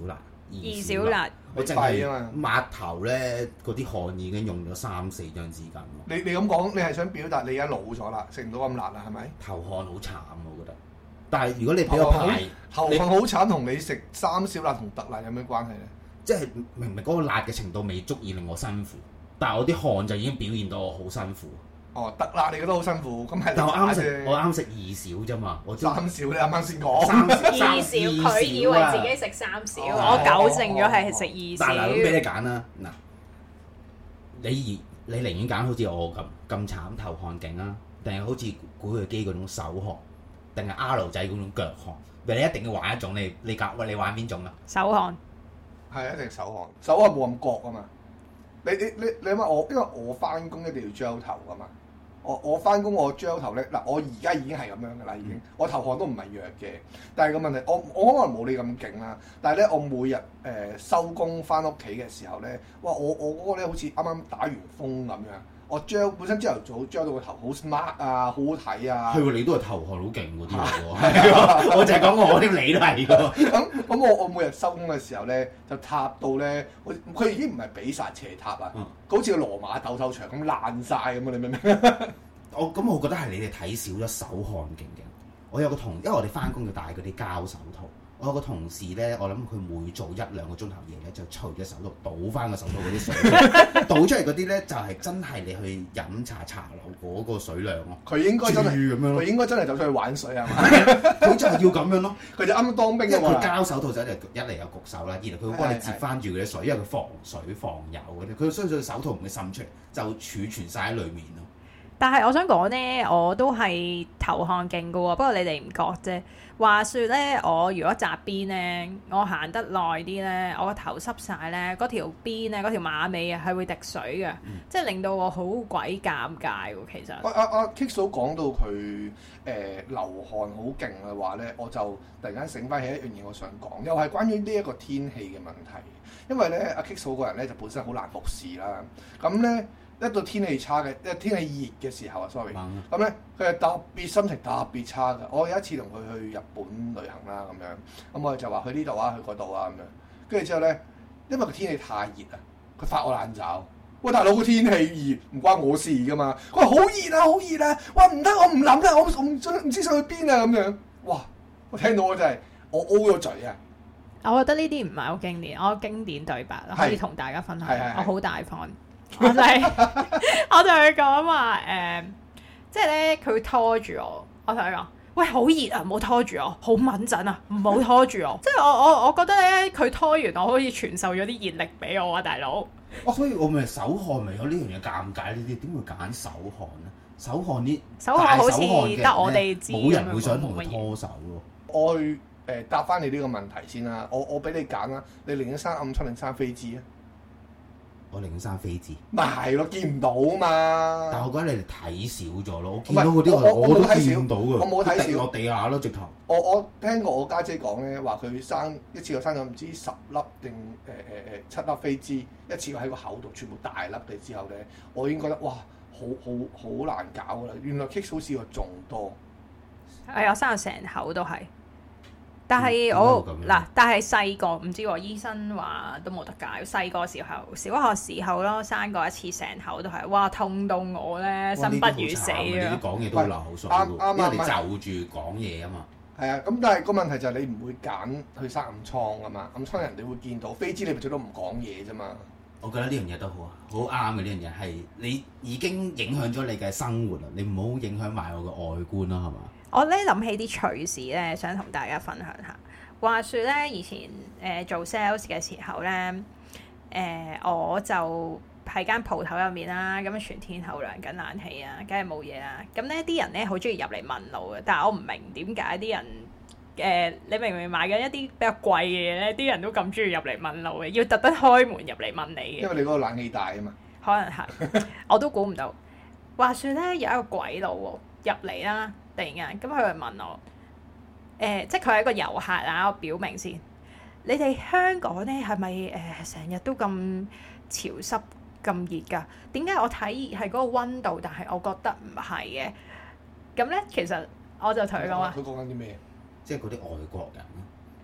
二小辣，
我淨係抹頭咧，嗰啲汗已經用咗三四張紙巾咯。
你你咁講，你係想表達你而家老咗啦，食唔到咁辣啦，係咪？
頭汗好慘，我覺得。但係如果你俾我排，
頭汗好慘，同你食三小辣同特辣有咩關係咧？
即係明明嗰個辣嘅程度未足以令我辛苦，但係我啲汗就已經表現到我好辛苦。
哦，特辣你覺得好辛苦，咁係
但我啱食，我啱食二小啫嘛，我
三小你啱啱先講。
二小佢以為自己食三小，我糾正咗係食二小。
但係咁俾你揀啦，嗱，你你寧願揀好似我咁咁慘頭汗勁啊，定係好似古巨基嗰種手汗，定係阿盧仔嗰種腳汗？你一定要玩一種，你你揀喂，你玩邊種啊？
手汗
係一定手汗，手汗冇咁焗啊嘛。你你你你諗下我，因為我翻工一定要膠頭噶嘛。我我翻工我膠頭咧，嗱我而家已經係咁樣噶啦，已經我頭汗都唔係弱嘅，但係個問題我我可能冇你咁勁啦，但係咧我每日誒收工翻屋企嘅時候咧，哇我我嗰個咧好似啱啱打完風咁樣，我膠本身朝頭早膠到個頭好 smart 啊，好好睇啊，
係喎，你都係頭汗好勁嗰啲喎，係喎，我就係講我啲你都係㗎，
咁咁我我每日收工嘅時候咧就塌到咧，佢已經唔係比薩斜塔啊，
嗯、
好似個羅馬鬥獸場咁爛晒咁啊！你明唔明？
我咁我覺得係你哋睇少咗手汗勁嘅。我有個同，因為我哋翻工要戴嗰啲膠手套。我有個同事咧，我諗佢每做一兩個鐘頭嘢咧，就除隻手套倒翻個手套嗰啲水，倒出嚟嗰啲咧就係、是、真係你去飲茶茶樓嗰個水量咯。佢應該真係咁樣，佢應該真係走出去玩水係嘛？佢就係要咁樣咯。佢就啱啱當兵嘅嘛。佢膠手套就一嚟一嚟有焗手啦，二嚟佢會幫你接翻住嗰啲水，因為佢防水防油嗰啲。佢相信手套唔會滲出嚟，就儲存晒喺裡面咯。
但係我想講咧，我都係頭汗勁嘅喎，不過你哋唔覺啫。話說咧，我如果紮辮咧，我行得耐啲咧，我個頭濕晒咧，嗰條辮咧，嗰條馬尾啊，係會滴水嘅，嗯、即係令到我好鬼尷尬喎。其實，阿阿阿
Kick 嫂講到佢誒、呃、流汗好勁嘅話咧，我就突然間醒翻起一樣嘢，我想講，又係關於呢一個天氣嘅問題。因為咧，阿 Kick 嫂個人咧就本身好難服侍啦，咁咧。一到天氣差嘅，一天氣熱嘅時候啊 ，sorry，咁咧佢係特別心情特別差嘅。我有一次同佢去日本旅行啦，咁樣，咁我哋就話去呢度啊，去嗰度啊，咁樣。跟住之後咧，因為個天氣太熱啊，佢發我爛爪。喂，大佬個天氣熱唔關我事噶嘛。佢話好熱啊，好熱啊。哇，唔得，我唔諗啦，我我唔想唔知想去邊啊，咁樣。哇，我聽到我真係我 O 咗嘴啊！
我覺得呢啲唔係好經典，我經典對白可以同大家分享。我好大方。我就係、是，我同佢講話誒，即係咧佢拖住我，我同佢講，喂，好熱啊，唔好拖住我，好敏陣啊，唔好拖住我。即係我我我覺得咧，佢拖完我好似傳授咗啲熱力俾我啊，大佬。
哦，所以我咪手汗咪有呢樣嘢尷尬呢啲，點會揀手汗咧？手汗啲手汗好似得我哋知，冇人會想同佢拖手咯。
我去誒、呃、答翻你呢個問題先啦，我我俾你揀啦，你寧願生暗瘡定生飛滋啊？
我寧願生飛滋，
咪係咯，見唔到嘛。
但係我覺得你哋睇少咗咯，我見到嗰啲我我都見到嘅，
我冇睇少，
跌落地下咯，直頭。
我我聽過我家姐講咧，話佢生一次過生咗唔知十粒定誒誒誒七粒飛滋，一次過喺個口度全部大粒嘅之後咧，我已經覺得哇，好好好難搞㗎啦。原來 Kick 嫂試過仲多，
係我生到成口都係。但係我嗱，但係細個唔知喎，醫生話都冇得解。細個時候，小學時候咯，生過一次成口都係，哇痛到我咧，生不如死啊！
你講嘢都好流口水喎，因為你就住講嘢啊嘛。
係啊，咁但係個問題就係你唔會揀去生暗瘡啊嘛，暗瘡人哋會見到，飛滋你咪最多唔講嘢啫嘛。
我覺得呢樣嘢都好啊，好啱嘅呢樣嘢係你已經影響咗你嘅生活啦，你唔好影響埋我嘅外觀啦，係嘛？
我咧諗起啲趣事咧，想同大家分享下。話說咧，以前誒、呃、做 sales 嘅時候咧，誒、呃、我就喺間鋪頭入面啦，咁全天候涼緊冷氣啊，梗係冇嘢啦。咁咧啲人咧好中意入嚟問路嘅，但係我唔明點解啲人誒、呃，你明唔明買緊一啲比較貴嘅嘢咧，啲人都咁中意入嚟問路嘅，要特登開門入嚟問你嘅。
因為你嗰個冷氣大啊嘛。可能
係，我都估唔到。話說咧，有一個鬼佬喎入嚟啦。突然間，咁佢會問我，誒、呃，即係佢係一個遊客啊！我表明先，你哋香港咧係咪誒成日都咁潮濕咁熱㗎？點解我睇係嗰個温度，但係我覺得唔係嘅？咁咧，其實我就同佢講話，
佢講緊啲咩？
即係嗰啲外國人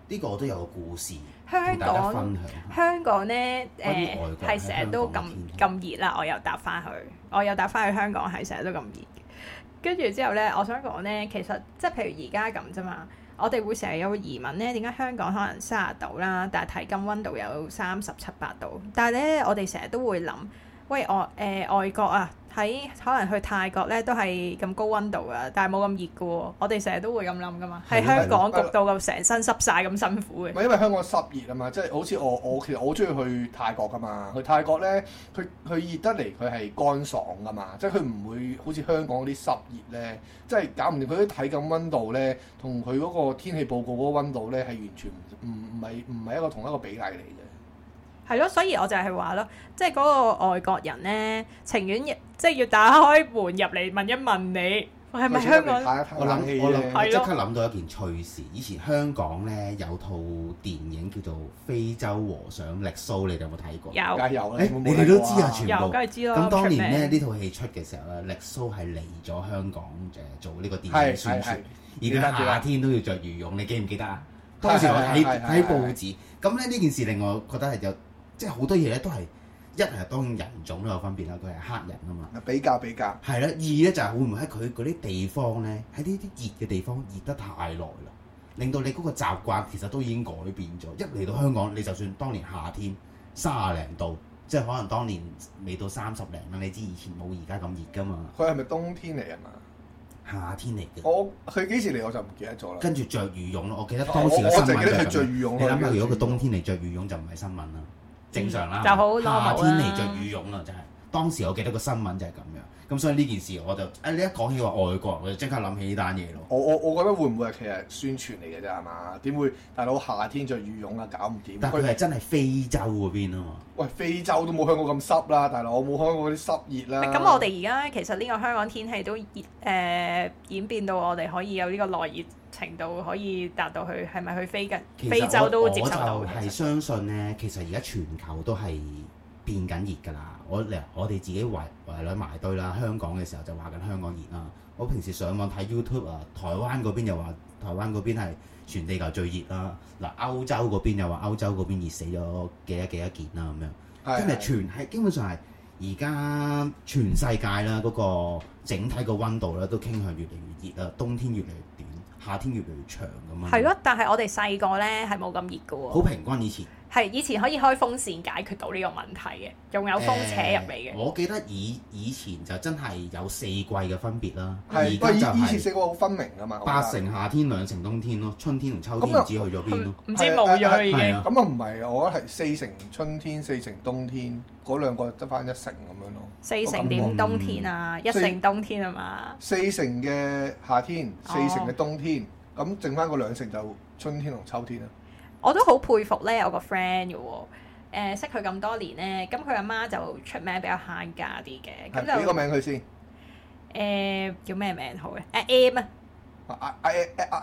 呢個我都有個故事
香
同大家
港
分享。
香港咧誒
關於外國
係成日都咁咁熱啦，我又搭翻去，我又搭翻去香港係成日都咁熱。跟住之後咧，我想講咧，其實即係譬如而家咁啫嘛，我哋會成日有個疑問咧，點解香港可能三十度啦，但係體感溫度有三十七八度，但係咧我哋成日都會諗，喂外誒、呃、外國啊，喺可能去泰國咧都係咁高溫度啊，但係冇咁熱嘅喎，我哋成日都會咁諗噶嘛，喺香港焗到咁成身濕晒咁辛苦嘅。
唔係因為香港濕熱啊嘛，即係好似我我其實我好中意去泰國噶嘛，去泰國咧，佢佢熱得嚟佢係乾爽噶嘛，即係佢唔會好似香港嗰啲濕熱咧，即係搞唔掂佢啲體感溫度咧，同佢嗰個天氣報告嗰個溫度咧係完全唔唔係唔係一個同一個比例嚟嘅。
係咯，所以我就係話咯，即係嗰個外國人咧，情願即係要打開門入嚟問一問你，係咪香港？
我諗我諗，
係
即刻諗到一件趣事。以前香港咧有套電影叫做《非洲和尚力蘇》，你哋有冇睇過？
有，
梗係有啦。
誒，你哋都知啊，全部。
有，梗係知啦。
咁當年咧呢套戲出嘅時候咧，力蘇係嚟咗香港誒做呢個電影宣傳，而佢夏天都要着羽絨，你記唔記得啊？當時我睇睇報紙，咁咧呢件事令我覺得係有。即係好多嘢咧都係一係當然人種都有分別啦，佢係黑人啊嘛。比較比較。係啦，二咧就係會唔會喺佢嗰啲地方咧，喺呢啲熱嘅地方熱得太耐啦，令到你嗰個習慣其實都已經改變咗。一嚟到香港，你就算當年夏天三十零度，即係可能當年未到三十零啦，你知以前冇而家咁熱㗎嘛。佢係咪冬天嚟啊嘛？夏天嚟嘅。我佢幾時嚟我就唔記得咗啦。跟住着羽絨咯，我記得當時嘅新聞就係咁。你諗下，如果佢冬天嚟着羽絨就唔係新聞啦。正常啦，
就好
夏天嚟着羽絨啦，就係當時我記得個新聞就係咁樣，咁所以呢件事我就誒、哎、你一講起話外國，我就即刻諗起呢單嘢咯。我我我覺得會唔會係其實宣傳嚟嘅啫係嘛？點會大佬夏天着羽絨啊搞唔掂？但佢係真係非洲嗰邊啊嘛。喂，非洲都冇香港咁濕啦，大佬我冇香港嗰啲濕熱啦。
咁我哋而家其實呢個香港天氣都熱誒、呃、演變到我哋可以有呢個內熱程度，可以達到去係咪去非嘅非洲都接受到。我就係相信咧，其實而家全球都係變緊熱㗎啦。我嚟我哋自己圍圍兩埋堆啦，香港嘅時候就話緊香港熱啦。我平時上網睇 YouTube 啊，台灣嗰邊又話台灣嗰邊係全地球最熱啦。嗱，歐洲嗰邊又話歐洲嗰邊熱死咗幾多幾多件啦咁樣。真係全係基本上係而家全世界啦，嗰個整體個溫度咧都傾向越嚟越熱啦，冬天越嚟越短，夏天越嚟越長咁樣。係咯，但係我哋細個咧係冇咁熱嘅喎。好平均以前。係以前可以開風扇解決到呢個問題嘅，仲有風扯入嚟嘅。我記得以以前就真係有四季嘅分別啦。係，而家就係以前四季好分明㗎嘛。八成夏天，兩成冬天咯，春天同秋天唔知去咗邊咯。唔知冇咗已經。咁啊唔係，我覺得係四成春天，四成冬天，嗰兩個得翻一成咁樣咯。四成點冬天啊？一成冬天啊嘛？四成嘅夏天，四成嘅冬天，咁剩翻個兩成就春天同秋天啦。我都好佩服咧，我個 friend 嘅喎，誒識佢咁多年咧，咁佢阿媽就出名比較慳家啲嘅，咁就俾個名佢先。誒叫咩名好嘅？誒 M 啊，阿阿阿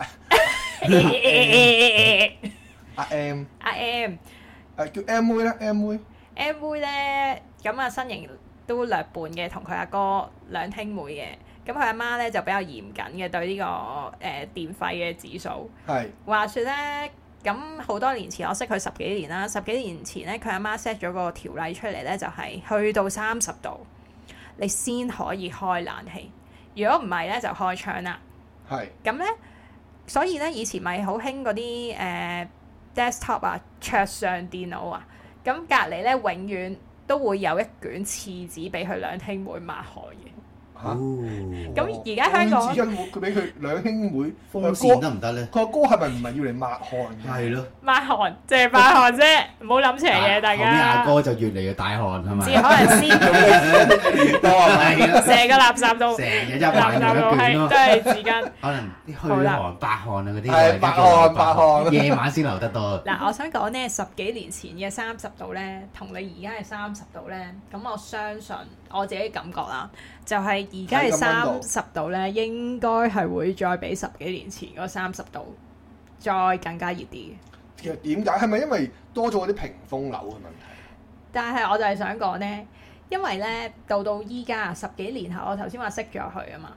阿 M 阿 M 誒叫 M 妹咧 M 妹 M 妹咧，咁啊身形都略半嘅，同佢阿哥兩兄妹嘅，咁佢阿媽咧就比較嚴謹嘅對呢個誒電費嘅指數。係話説咧。咁好多年前，我識佢十幾年啦。十幾年前咧，佢阿媽 set 咗個條例出嚟咧，就係去到三十度，你先可以開冷氣。如果唔係咧，就開窗啦。係。咁咧，所以咧，以前咪好興嗰啲誒 desktop 啊，桌上電腦啊。咁隔離咧，永遠都會有一卷廁紙俾佢兩兄妹抹汗嘅。嚇！咁而家香港，佢俾佢兩兄妹風扇得唔得咧？佢阿哥係咪唔係要嚟抹汗嘅？係咯，抹汗，淨係抹汗啫，唔好諗邪嘢，大家。後面阿哥就越嚟越大汗係咪？只可能先越多係咪？成個垃圾都，成日一垃圾都係都係紙巾。可能啲虛汗、白汗啊嗰啲，係白汗、白汗，夜晚先流得多。嗱，我想講咧，十幾年前嘅三十度咧，同你而家嘅三十度咧，咁我相信我自己感覺啦。就係而家係三十度咧，應該係會再比十幾年前嗰三十度再更加熱啲嘅。其實點解？係咪因為多咗嗰啲屏風樓嘅問題？但係我就係想講咧，因為咧到到依家十幾年後，我頭先話識咗佢啊嘛，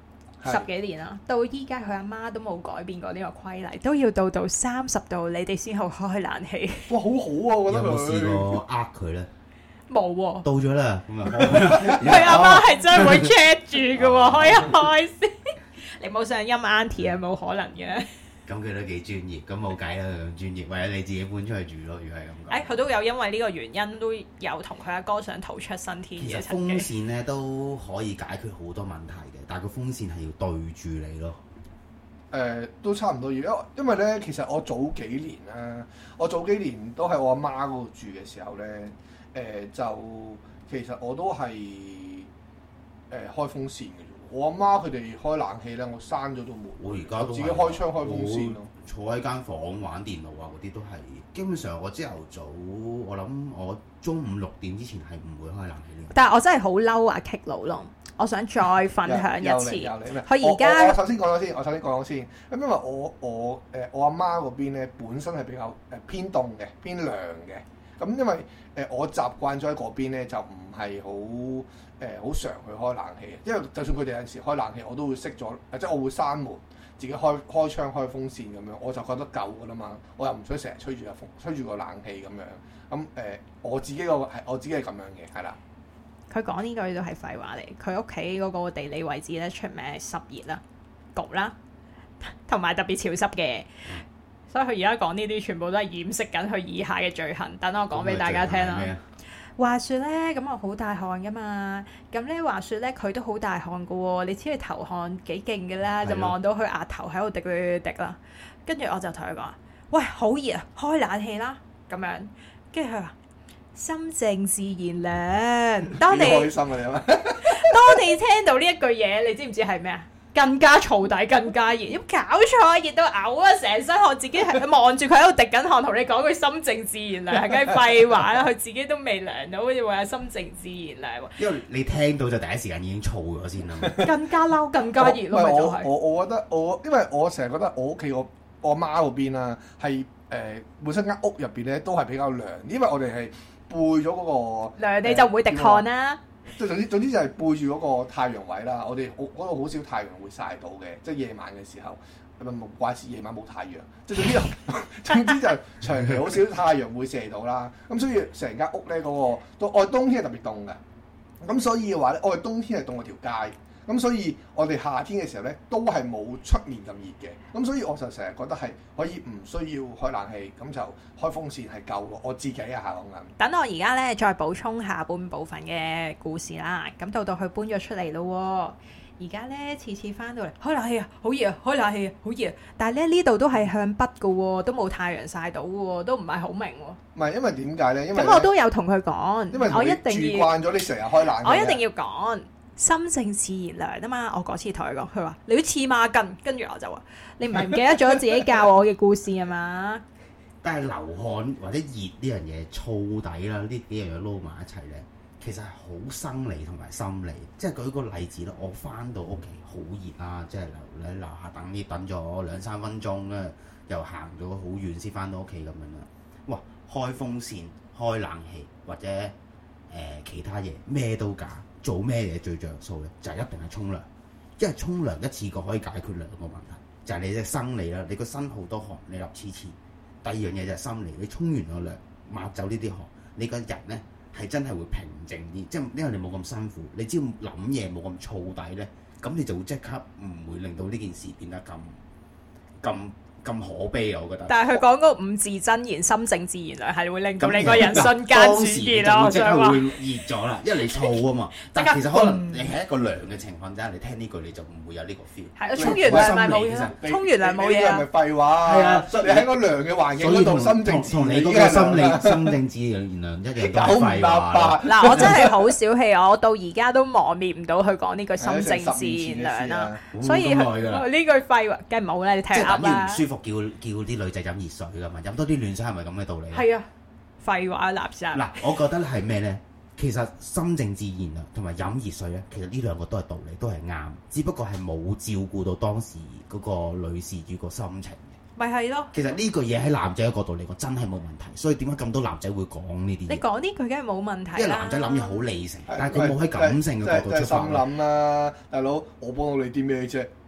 十幾年啦，到依家佢阿媽都冇改變過呢個規例，都要到到三十度你哋先好開冷氣。
哇，好好啊！我覺得佢
有冇試過呃佢咧？
冇喎，
到咗啦，咁啊，
佢阿媽係真係會 check 住嘅喎，開一開先。你冇上陰 auntie 係冇可能嘅。
咁佢都幾專業，咁冇計啦，佢咁專業，或者你自己搬出去住咯，如果係咁講。
誒，佢都有因為呢個原因，都有同佢阿哥想逃出生天嘅。
其實風扇咧都可以解決好多問題嘅，但係個風扇係要對住你咯。
誒、呃，都差唔多要，因因為咧，其實我早幾年啦，我早幾年都喺我阿媽嗰度住嘅時候咧，誒、呃、就其實我都係誒、呃、開風扇嘅。我阿媽佢哋開冷氣咧，我閂咗道門，
我而家都
自己開窗開風扇咯。
坐喺間房玩電腦啊，嗰啲都係基本上我朝頭早，我諗我中午六點之前係唔會開冷氣呢。
但係我真係好嬲啊 Kick 佬咯！我想再分享一次。佢而家
我首先講咗先，我首先講咗先。咁因為我我誒、呃、我阿媽嗰邊咧本身係比較誒偏凍嘅，偏涼嘅。咁因為誒、呃、我習慣咗喺嗰邊咧，就唔係好誒好常去開冷氣。因為就算佢哋有陣時開冷氣，我都會熄咗，即係我會閂門，自己開開窗開風扇咁樣，我就覺得夠㗎啦嘛。我又唔想成日吹住個風，吹住個冷氣咁樣。咁誒、呃、我自己個係我自己係咁樣嘅，係啦。
佢講呢句都係廢話嚟。佢屋企嗰個地理位置咧，出名係濕熱啦、焗啦，同埋特別潮濕嘅。所以佢而家講呢啲全部都係掩飾緊佢以下嘅罪行。等我講俾大家聽啦。話說咧，咁我好大汗噶嘛。咁咧話說咧，佢都好大汗噶喎。你知佢頭汗幾勁嘅啦，就望到佢額頭喺度滴滴滴啦。跟住我就同佢講：喂，好熱啊，開冷氣啦。咁樣，跟住佢話：心靜自然涼。當你
開心啊你啊！
當你聽到呢一句嘢，你知唔知係咩啊？更加燥底，更加熱，有搞錯，熱到嘔啊！成身汗，自己係望住佢喺度滴緊汗，同你講句心靜自然涼，係梗係廢話啦！佢自己都未涼到，好似話心靜自然涼。
因為你聽到就第一時間已經燥咗先啦。
更加嬲，更加熱咯，咪就係。
我我我覺得我，因為我成日覺得我屋企我我媽嗰邊啊，係誒、呃、本身間屋入邊咧都係比較涼，因為我哋係背咗嗰、那個
涼，你就唔會滴汗啦。呃
即係總之總之就係背住嗰個太陽位啦，我哋嗰度好少太陽會曬到嘅，即係夜晚嘅時候，咁啊冇怪事夜晚冇太陽，即係總之總之就長期好少太陽會射到啦。咁所以成間屋咧嗰、嗰個，到我哋冬天係特別凍嘅，咁所以嘅話咧，我哋冬天係凍過條街。咁所以我哋夏天嘅時候咧，都係冇出面咁熱嘅。咁所以我就成日覺得係可以唔需要開冷氣，咁就開風扇係夠咯。我自己啊嚇講緊。
等我而家咧再補充下半部分嘅故事啦。咁到到佢搬咗出嚟咯。而家咧次次翻到嚟開冷氣啊，好熱啊！開冷氣啊，好熱啊！但係咧呢度都係向北嘅喎，都冇太陽曬到嘅喎，都唔係好明喎。
唔係因為點解咧？因為
咁我都有同佢講，
因為
我一定要
住慣咗你成日開冷氣，
我一定要講。心靜自然涼啊嘛！我嗰次同佢講，佢話你都黐孖筋，跟住我就話你唔係唔記得咗自己教我嘅故事啊嘛？
但係流汗或者熱呢樣嘢燥底啦，呢幾樣嘢撈埋一齊咧，其實係好生理同埋心理。即係舉個例子啦，我翻到屋企好熱啦，即係留喺樓下等啲等咗兩三分鐘咧，又行咗好遠先翻到屋企咁樣啦。哇！開風扇、開冷氣或者誒、呃、其他嘢咩都假。做咩嘢最着數咧？就係、是、一定係沖涼，因為沖涼一次過可以解決兩個問題，就係、是、你嘅生理啦，你個身好多汗，你立黐黐。第二樣嘢就係心理，你沖完個涼抹走呢啲汗，你個人咧係真係會平靜啲，即係因為你冇咁辛苦，你只要諗嘢冇咁燥底咧，咁你就會即刻唔會令到呢件事變得咁咁。咁可悲啊！我覺得，
但係佢講嗰五字真言，心靜自然涼，係會令到你個人瞬間轉熱咯。
即刻會熱咗啦，因為你燥啊嘛。但係其實可能你係一個涼嘅情況之下，你聽呢句你就唔會有呢個 feel。係啊，沖完涼咪冇嘢，沖完涼冇嘢啊。
係咪廢話？係啊，你喺個涼嘅環境嗰度心靜自然，
同你嗰個心理心靜自然涼一樣都係廢話。
嗱，我真係好小氣，我到而家都磨滅唔到佢講呢句心靜自然涼啦。所以呢句廢話梗係冇啦，你聽啱啦。
舒服叫叫啲女仔飲熱水噶嘛，飲多啲暖水係咪咁嘅道理？
係啊，廢話垃圾。嗱，
我覺得係咩咧？其實心靜自然啊，同埋飲熱水咧，其實呢兩個都係道理，都係啱，只不過係冇照顧到當時嗰個女事主個心情。
咪係咯。
其實呢句嘢喺男仔嘅角度嚟講真係冇問題，所以點解咁多男仔會講呢啲？
你講呢句梗係冇問題啦。
因為男仔諗嘢好理性，但係佢冇喺感性嘅角度出發。
心諗啦，大佬，我幫到你啲咩啫？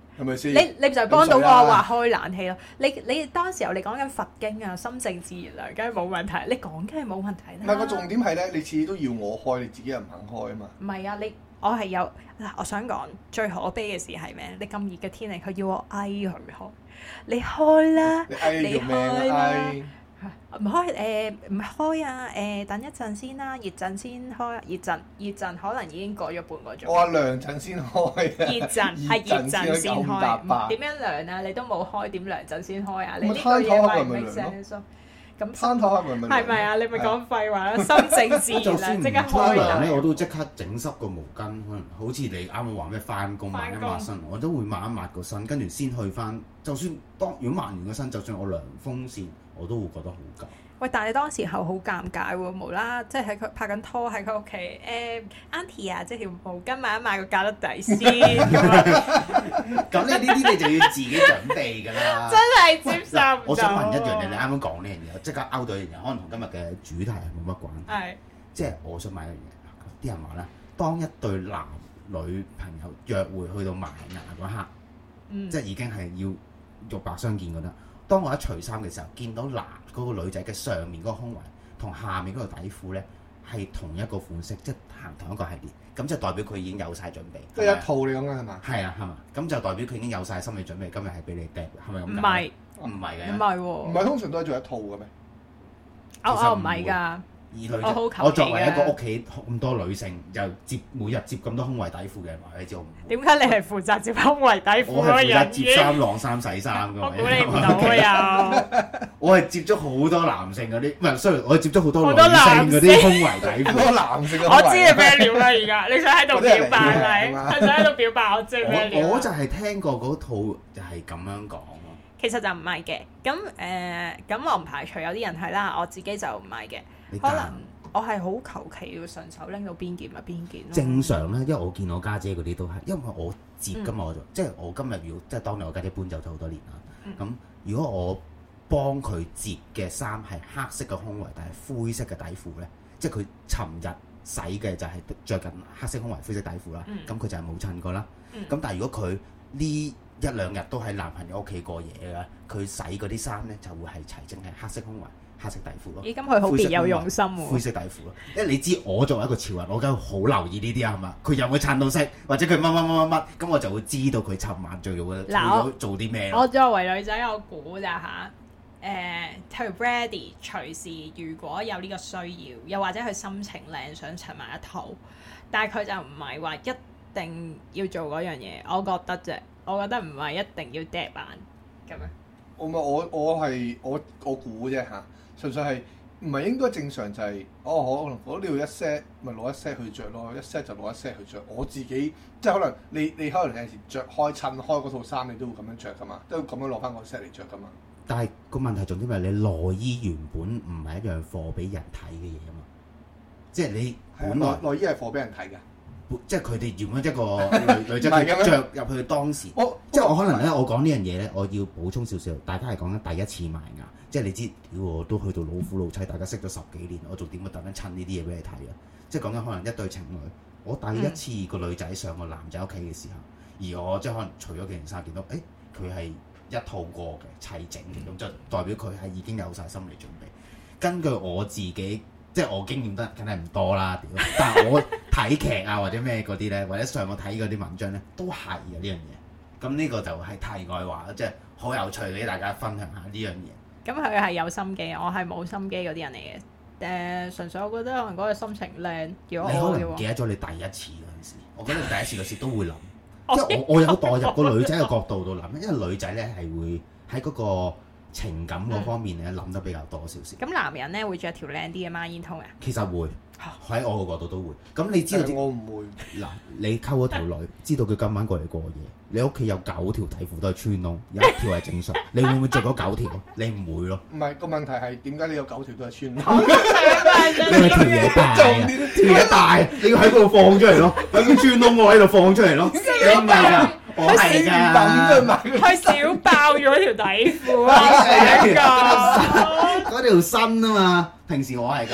係咪先？
你你就幫到我話開冷氣咯。你你當時候你講緊佛經啊、心靜自然涼，梗係冇問題。你講梗係冇問題啦。
唔係個重點係咧，你次次都要我開，你自己又唔肯開啊嘛。
唔係啊，你我係有嗱，我想講最可悲嘅事係咩？你咁熱嘅天氣，佢要我嗌佢開，你開啦，
你嗌你做咩啊？
唔開誒唔開啊誒，等一陣先啦，熱陣先開，熱陣熱陣可能已經過咗半個鐘。
我話涼陣先開啊！
熱陣係熱陣先開，點樣涼啊？你都冇開，點涼陣先開啊？你呢句嘢咪 make sense 咯？咁
攤頭係咪
係咪啊？你咪講廢話啦！心靜自然，即刻開
涼咧，我都即刻整濕個毛巾，可能好似你啱啱話咩翻工抹一抹身，我都會抹一抹個身，跟住先去翻。就算當如果抹完個身，就算我涼風扇，我都會覺得好緊。
喂，但係你當時候好尷尬喎，無啦，即係喺佢拍緊拖喺佢屋企，誒 Auntie 啊，即係條毛巾抹一抹個架得底先咁樣。
咁你呢啲你就要自己準備㗎啦。
真係接受唔到。
我想問一樣嘢，你啱啱講呢樣嘢，即刻勾到一樣嘢，可能同今日嘅主題係冇乜關係。係。即係我想問一樣嘢，啲人話咧，當一對男女朋友約會去到埋牙嗰刻，嗯、即係已經係要肉白相見嗰得。當我一除衫嘅時候，見到男嗰、嗰個女仔嘅上面嗰個胸圍同下面嗰個底褲咧係同一個款式，即係行同一個系列，咁就代表佢已經有晒準備。即係一套你講嘅係嘛？係啊，係嘛？咁就代表佢已經有晒心理準備，今日係俾你掟，係咪咁？唔係，唔係嘅，
唔係喎，
唔係通常都係做一套嘅咩？
哦哦，唔係㗎。
而女仔，我作為一個屋企咁多女性，又接每日接咁多胸圍底褲嘅人，話你知我唔
點解你係負責接胸圍底褲嗰個人？
我係負責接衫、晾衫、洗衫㗎嘛。
我估你唔到啊！
我係接觸好多男性嗰啲，唔係，sorry，我係接觸好多女性嗰啲胸圍底褲。好多男性嘅。
我知你咩料啦，而家你想喺度表白你，係想喺度表白我知咩料？
我就係聽過嗰套就係咁樣講咯。
其實就唔係嘅，咁誒，咁我唔排除有啲人係啦，我自己就唔係嘅。可能我係好求其要順手拎到邊件咪邊件咯。正常咧，因為我見我家姐嗰啲都係，因為我接㗎嘛，我就即係我今日要即係當年我家姐搬走咗好多年啦。咁、嗯、如果我幫佢接嘅衫係黑色嘅胸圍，但係灰色嘅底褲咧，即係佢尋日洗嘅就係着緊黑色胸圍、灰色底褲啦。咁佢、嗯、就係冇襯過啦。咁、嗯、但係如果佢呢一兩日都喺男朋友屋企過夜嘅，佢洗嗰啲衫咧就會係齊整係黑色胸圍、黑色底褲咯。咦，咁佢好別有用心喎。灰色底褲咯，因為你知我作為一個潮人，我梗係好留意呢啲啊，係嘛？佢有冇襯到色，或者佢乜乜乜乜乜，咁我就會知道佢尋晚最做嘅做啲咩。我作為女仔，我估咋嚇？誒，譬如 Brady 隨時如果有呢個需要，又或者佢心情靚想襯埋一套，但係佢就唔係話一定要做嗰樣嘢，我覺得啫。我覺得唔係一定要 dead 版咁樣。我咪我我係我我估啫嚇，純粹係唔係應該正常就係、是、哦可能我呢度一 set 咪攞一 set 去着咯，一 set 就攞一 set 去着。我自己即係可能你你可能有時着開襯開嗰套衫，你都會咁樣着噶嘛，都會咁樣攞翻個 set 嚟着噶嘛。但係個問題重點係你內衣原本唔係一樣貨俾人睇嘅嘢啊嘛，即係你本來內衣係貨俾人睇㗎。即係佢哋原本一個女女仔佢著入去當時，我即係我可能咧，我講呢樣嘢咧，我要補充少少。大家係講緊第一次埋牙，即係你知，屌我都去到老夫老妻，大家識咗十幾年，我仲點會特登襯呢啲嘢俾你睇啊？即係講緊可能一對情侶，我第一次個女仔上個男仔屋企嘅時候，而我即係可能除咗件衫，見到誒佢係一套過嘅齊整嘅，咁就代表佢係已經有晒心理準備。根據我自己。即係我經驗得梗係唔多啦，屌！但係我睇劇啊或者咩嗰啲咧，或者上網睇嗰啲文章咧，都係嘅呢樣嘢。咁呢個就係題外話，即係好有趣俾大家分享下呢樣嘢。咁佢係有心機，我係冇心機嗰啲人嚟嘅。誒、呃，純粹我覺得可能嗰個心情靚。如果我你可能記得咗你第一次嗰陣時，我覺得你第一次嗰時都會諗，即係我我有代入個女仔嘅角度度諗，因為女仔咧係會喺嗰個情感嗰方面咧諗、嗯、得比較多少少。咁男人咧會着條靚啲嘅孖煙通啊？其實會喺我個角度都會。咁你知道？我唔會。嗱，你溝嗰條女，知道佢今晚過嚟過夜，你屋企有九條底褲都係穿窿，有一條係正常，你會唔會着嗰九條？你唔會咯。唔係，個問題係點解你有九條都係穿窿？因為條嘢大啊，條嘢大，你要喺嗰度放出嚟咯，喺個穿窿我喺度放出嚟咯。你唔係㗎。我係㗎，佢少爆咗條底褲啊！嗰條新啊嘛，平時我係㗎，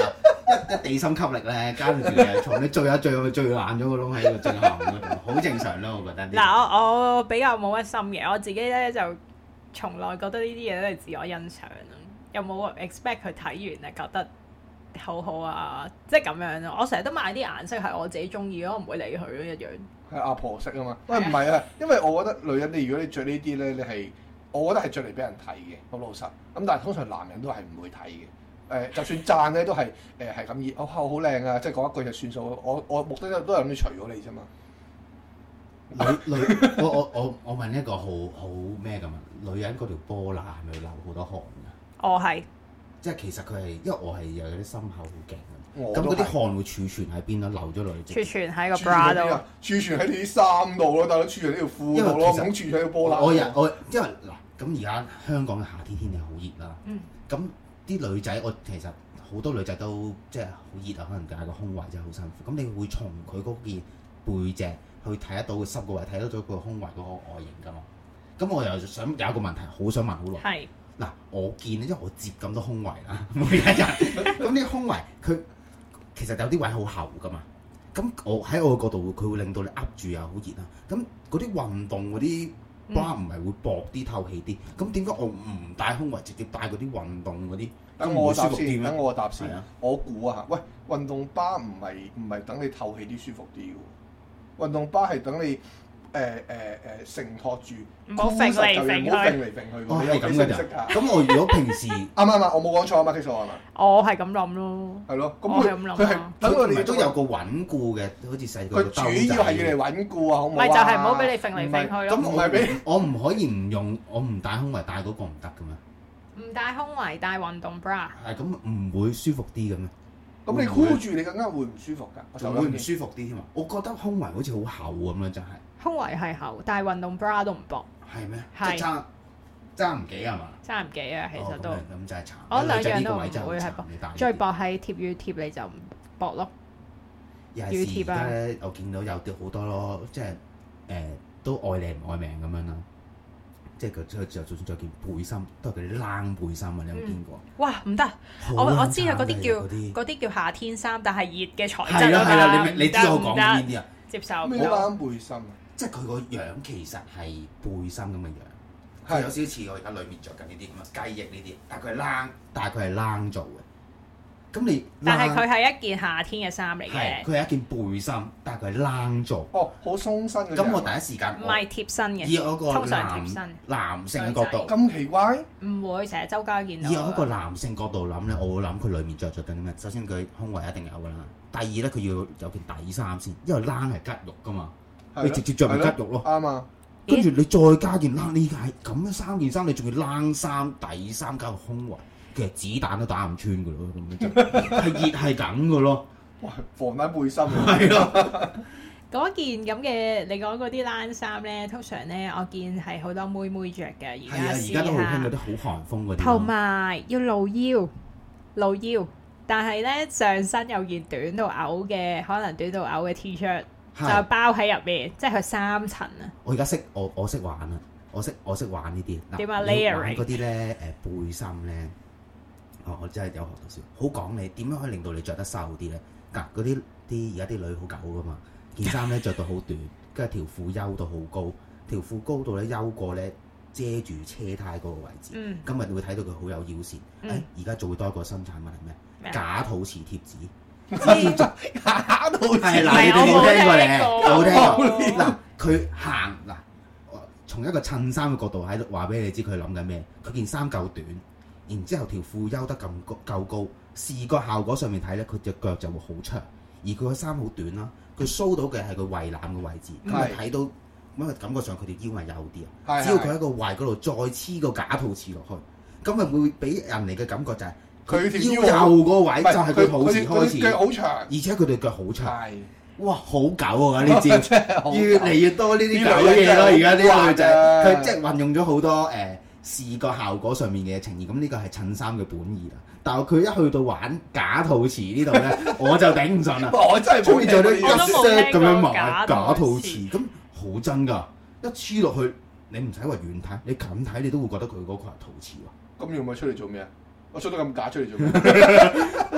一一地心吸力咧，跟住你從你最下最後最爛咗個窿喺個最後嗰度，好正常咯，我覺得。
嗱，我我比較冇乜心嘅，我自己咧就從來覺得呢啲嘢都係自我欣賞咯，有冇 expect 佢睇完係覺得好好啊，即係咁樣咯。我成日都買啲顏色係我自己中意咯，我唔會理佢咯一樣。
係阿婆色啊嘛，喂唔係啊，因為我覺得女人你如果你着呢啲咧，你係我覺得係着嚟俾人睇嘅，好老實。咁但係通常男人都係唔會睇嘅。誒、呃，就算讚咧都係誒係咁意，哦好靚啊，即係講一句就算數。我我目的都係諗住除咗你啫嘛。
女女，我我我我問一個好好咩咁啊？女人嗰條波乸係咪流好多汗㗎？
我係。即
係其實佢係，因為我係有啲心口好勁，
咁
嗰啲汗會儲存喺邊咯？流咗落去。
儲存喺個 bra 度。
儲存喺你啲衫度咯，大佬儲存喺條褲度咯，唔好儲存喺個波乸。
我我我因為嗱，咁而家香港嘅夏天天氣好熱啦。嗯。咁啲女仔，我其實好多女仔都即係好熱啊，可能戴個胸圍真係好辛苦。咁你會從佢嗰件背脊去睇得到佢濕個位，睇得到佢胸圍嗰個外形㗎嘛？咁我又想有一個問題，好想問好耐。係。嗱，我見咧，因為我接咁多胸圍啦，每一日咁啲胸圍，佢其實有啲位好厚噶嘛。咁我喺我嘅角度，佢會令到你噏住又好熱啦。咁嗰啲運動嗰啲 bra 唔係會薄啲、透氣啲？咁點解我唔戴胸圍，直接戴嗰啲運動嗰啲？
等我答先，等我答先。
啊、
我估啊，喂，運動 bra 唔係唔係等你透氣啲、舒服啲嘅喎。運動 bra 係等你。誒誒誒承托住，
唔好揈嚟揈去，
唔好揈嚟揈去。
哦，係咁嘅咋？咁我如果平時啱
啱啊？我冇講錯啊嘛，基數係嘛？
我係咁諗咯。
係咯，咁
佢佢係
等我
哋都有個穩固嘅，好似細個
佢主要係要嚟穩固啊，好唔好啊？
咪就係唔好俾你揈嚟揈去咯。
咁唔係俾
我唔可以唔用，我唔戴胸圍戴嗰個唔得嘅咩？
唔戴胸圍戴運動 bra
係咁唔會舒服啲嘅咩？
咁你箍住你更加會唔舒服㗎？
就會唔舒服啲添啊！我覺得胸圍好似好厚咁樣，真係。
胸圍係厚，但係運動 bra 都唔薄。
係咩？
係
爭爭唔幾係嘛？
爭唔幾啊，其實都。
咁真係慘。
我兩樣都唔會係薄，最薄係貼乳貼你就唔薄咯。
乳貼啊！咧我見到有啲好多咯，即係誒都愛靚唔愛命咁樣啦。即係佢就就算着件背心，都係嗰啲冷背心啊！你有冇見過？
哇！唔得，我我知啊，嗰啲叫嗰啲叫夏天衫，但係熱嘅材質。
係啊係啊，你你知我講邊啲啊？
接受
咩冷背心啊？
即係佢個樣其實係背心咁嘅樣，係有少少似我而家裏面着緊呢啲咁嘅雞翼呢啲，但係佢係冷，但係佢係冷做嘅。咁你
但係佢係一件夏天嘅衫嚟嘅，
佢係一件背心，但係佢係冷做。
哦，好鬆身嘅。
咁我第一時間
唔係貼身嘅，
以我個
通常貼身
男性嘅角度
咁奇怪？
唔會成日周街見到。
以我一個男性角度諗咧，我會諗佢裡面着着緊啲咩？首先佢胸圍一定有㗎啦，第二咧佢要有件底衫先，因為冷係吉肉㗎嘛。你直接着咪吉肉咯，
啱啊！
跟住你再加件冷，呢係咁樣三件衫，你仲要冷衫、底衫加個胸圍，其實子彈都打唔穿㗎咯，咁樣就係熱係咁㗎咯。
哇！防彈背心
係咯。
嗰件咁嘅，你講嗰啲冷衫咧，通常咧我見係好多妹妹着嘅，而家
而家都好興嗰啲好寒風嗰啲。
同埋要露腰，露腰，但係咧上身有件短到嘔嘅，可能短到嘔嘅 T-shirt。就包喺入面，即係佢三層啊！
我而家識我我識玩啊！我識我識玩呢啲。
點啊 layering
嗰啲咧誒背心咧，哦我真係有學到少，好講你點樣可以令到你着得瘦啲咧？嗱嗰啲啲而家啲女好狗噶嘛，件衫咧着到好短，跟住條褲休到好高，條褲高到咧休過咧遮住車胎嗰個位置。嗯。今日你會睇到佢好有腰線。誒而家做多一個新產品係咩？麼假肚臍貼紙。知假肚臍係嗱，你哋冇聽過咧，冇聽過嗱。佢行嗱，從一個襯衫嘅角度喺度話俾你知，佢諗緊咩？佢件衫夠短，然之後條褲休得咁高夠高，視覺效果上面睇咧，佢隻腳就會好長，而佢個衫好短啦。佢 show 到嘅係佢胃腩嘅位置，咁咪睇到，因為感覺上佢條腰係幼啲啊。只要佢喺個胃嗰度再黐個假肚臍落去，咁咪會俾人哋嘅感覺就係。佢條腰右個位就係佢肚臍開始，
腳好長，
而且佢對腳好長。
係，
哇，好狗啊！呢招越嚟越多呢啲狗嘢咯。而家啲女仔，佢即係運用咗好多誒視覺效果上面嘅呈現。咁呢個係襯衫嘅本意啦。但係佢一去到玩假肚臍呢度咧，我就頂唔順啦。
我真係
中意做啲
一 set
咁樣買假肚臍，咁好真㗎。一黐落去，你唔使話遠睇，你近睇你都會覺得佢嗰個係肚臍喎。
咁要唔要出嚟做咩啊？我出得咁假出嚟做咩？
哇！好癲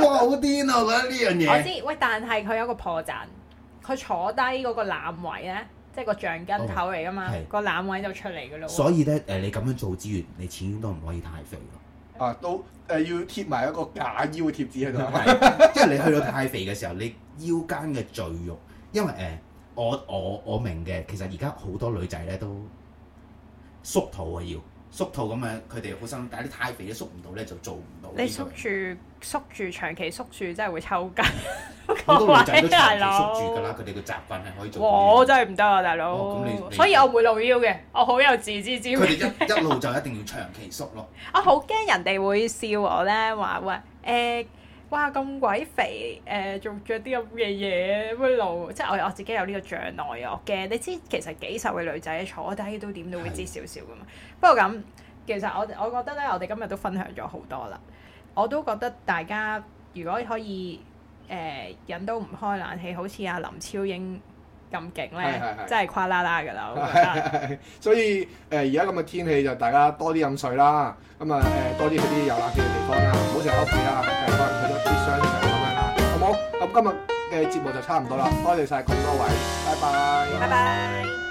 癲啊！我覺得呢樣嘢。
我知，喂，但係佢有個破綻，佢坐低嗰個攬位咧，即係個橡筋頭嚟噶嘛，個攬位就出嚟噶咯。
所以咧，誒你咁樣做之餘，你始終都唔可以太肥咯。
啊，都誒、呃、要貼埋一個假腰嘅貼紙喺度。
因為你去到太肥嘅時候，你腰間嘅贅肉，因為誒、呃、我我我明嘅，其實而家好多女仔咧都縮肚啊要。縮肚咁樣，佢哋好辛苦，但係你太肥都縮唔到咧，就做唔到。
你縮住縮住長期縮住，真係會抽筋。
好多女仔都長期縮住㗎啦，佢哋嘅習慣係可以做到。
我真係唔得啊，大佬。
哦、你
所以我唔會露腰嘅，我好有自知之明。
佢哋一一路就一定要長期縮咯。
我好驚人哋會笑我咧，話喂誒。欸哇咁鬼肥誒，仲着啲咁嘅嘢乜露，即係我我自己有呢個障礙啊！我驚你知，其實幾瘦嘅女仔坐低都點都會知少少噶嘛。不過咁，其實我我覺得咧，我哋今日都分享咗好多啦。我都覺得大家如果可以誒、呃、忍到唔開冷氣，好似阿林超英咁勁咧，真係跨啦啦㗎啦！我覺得。
所以誒而家咁嘅天氣就大家多啲飲水啦，咁啊誒多啲去啲有冷氣嘅地方啦，唔好成日屋企啦，誒可能去咗啲商場咁樣啦，好冇？咁今日嘅節目就差唔多啦，多謝晒咁多位，拜拜，
拜拜。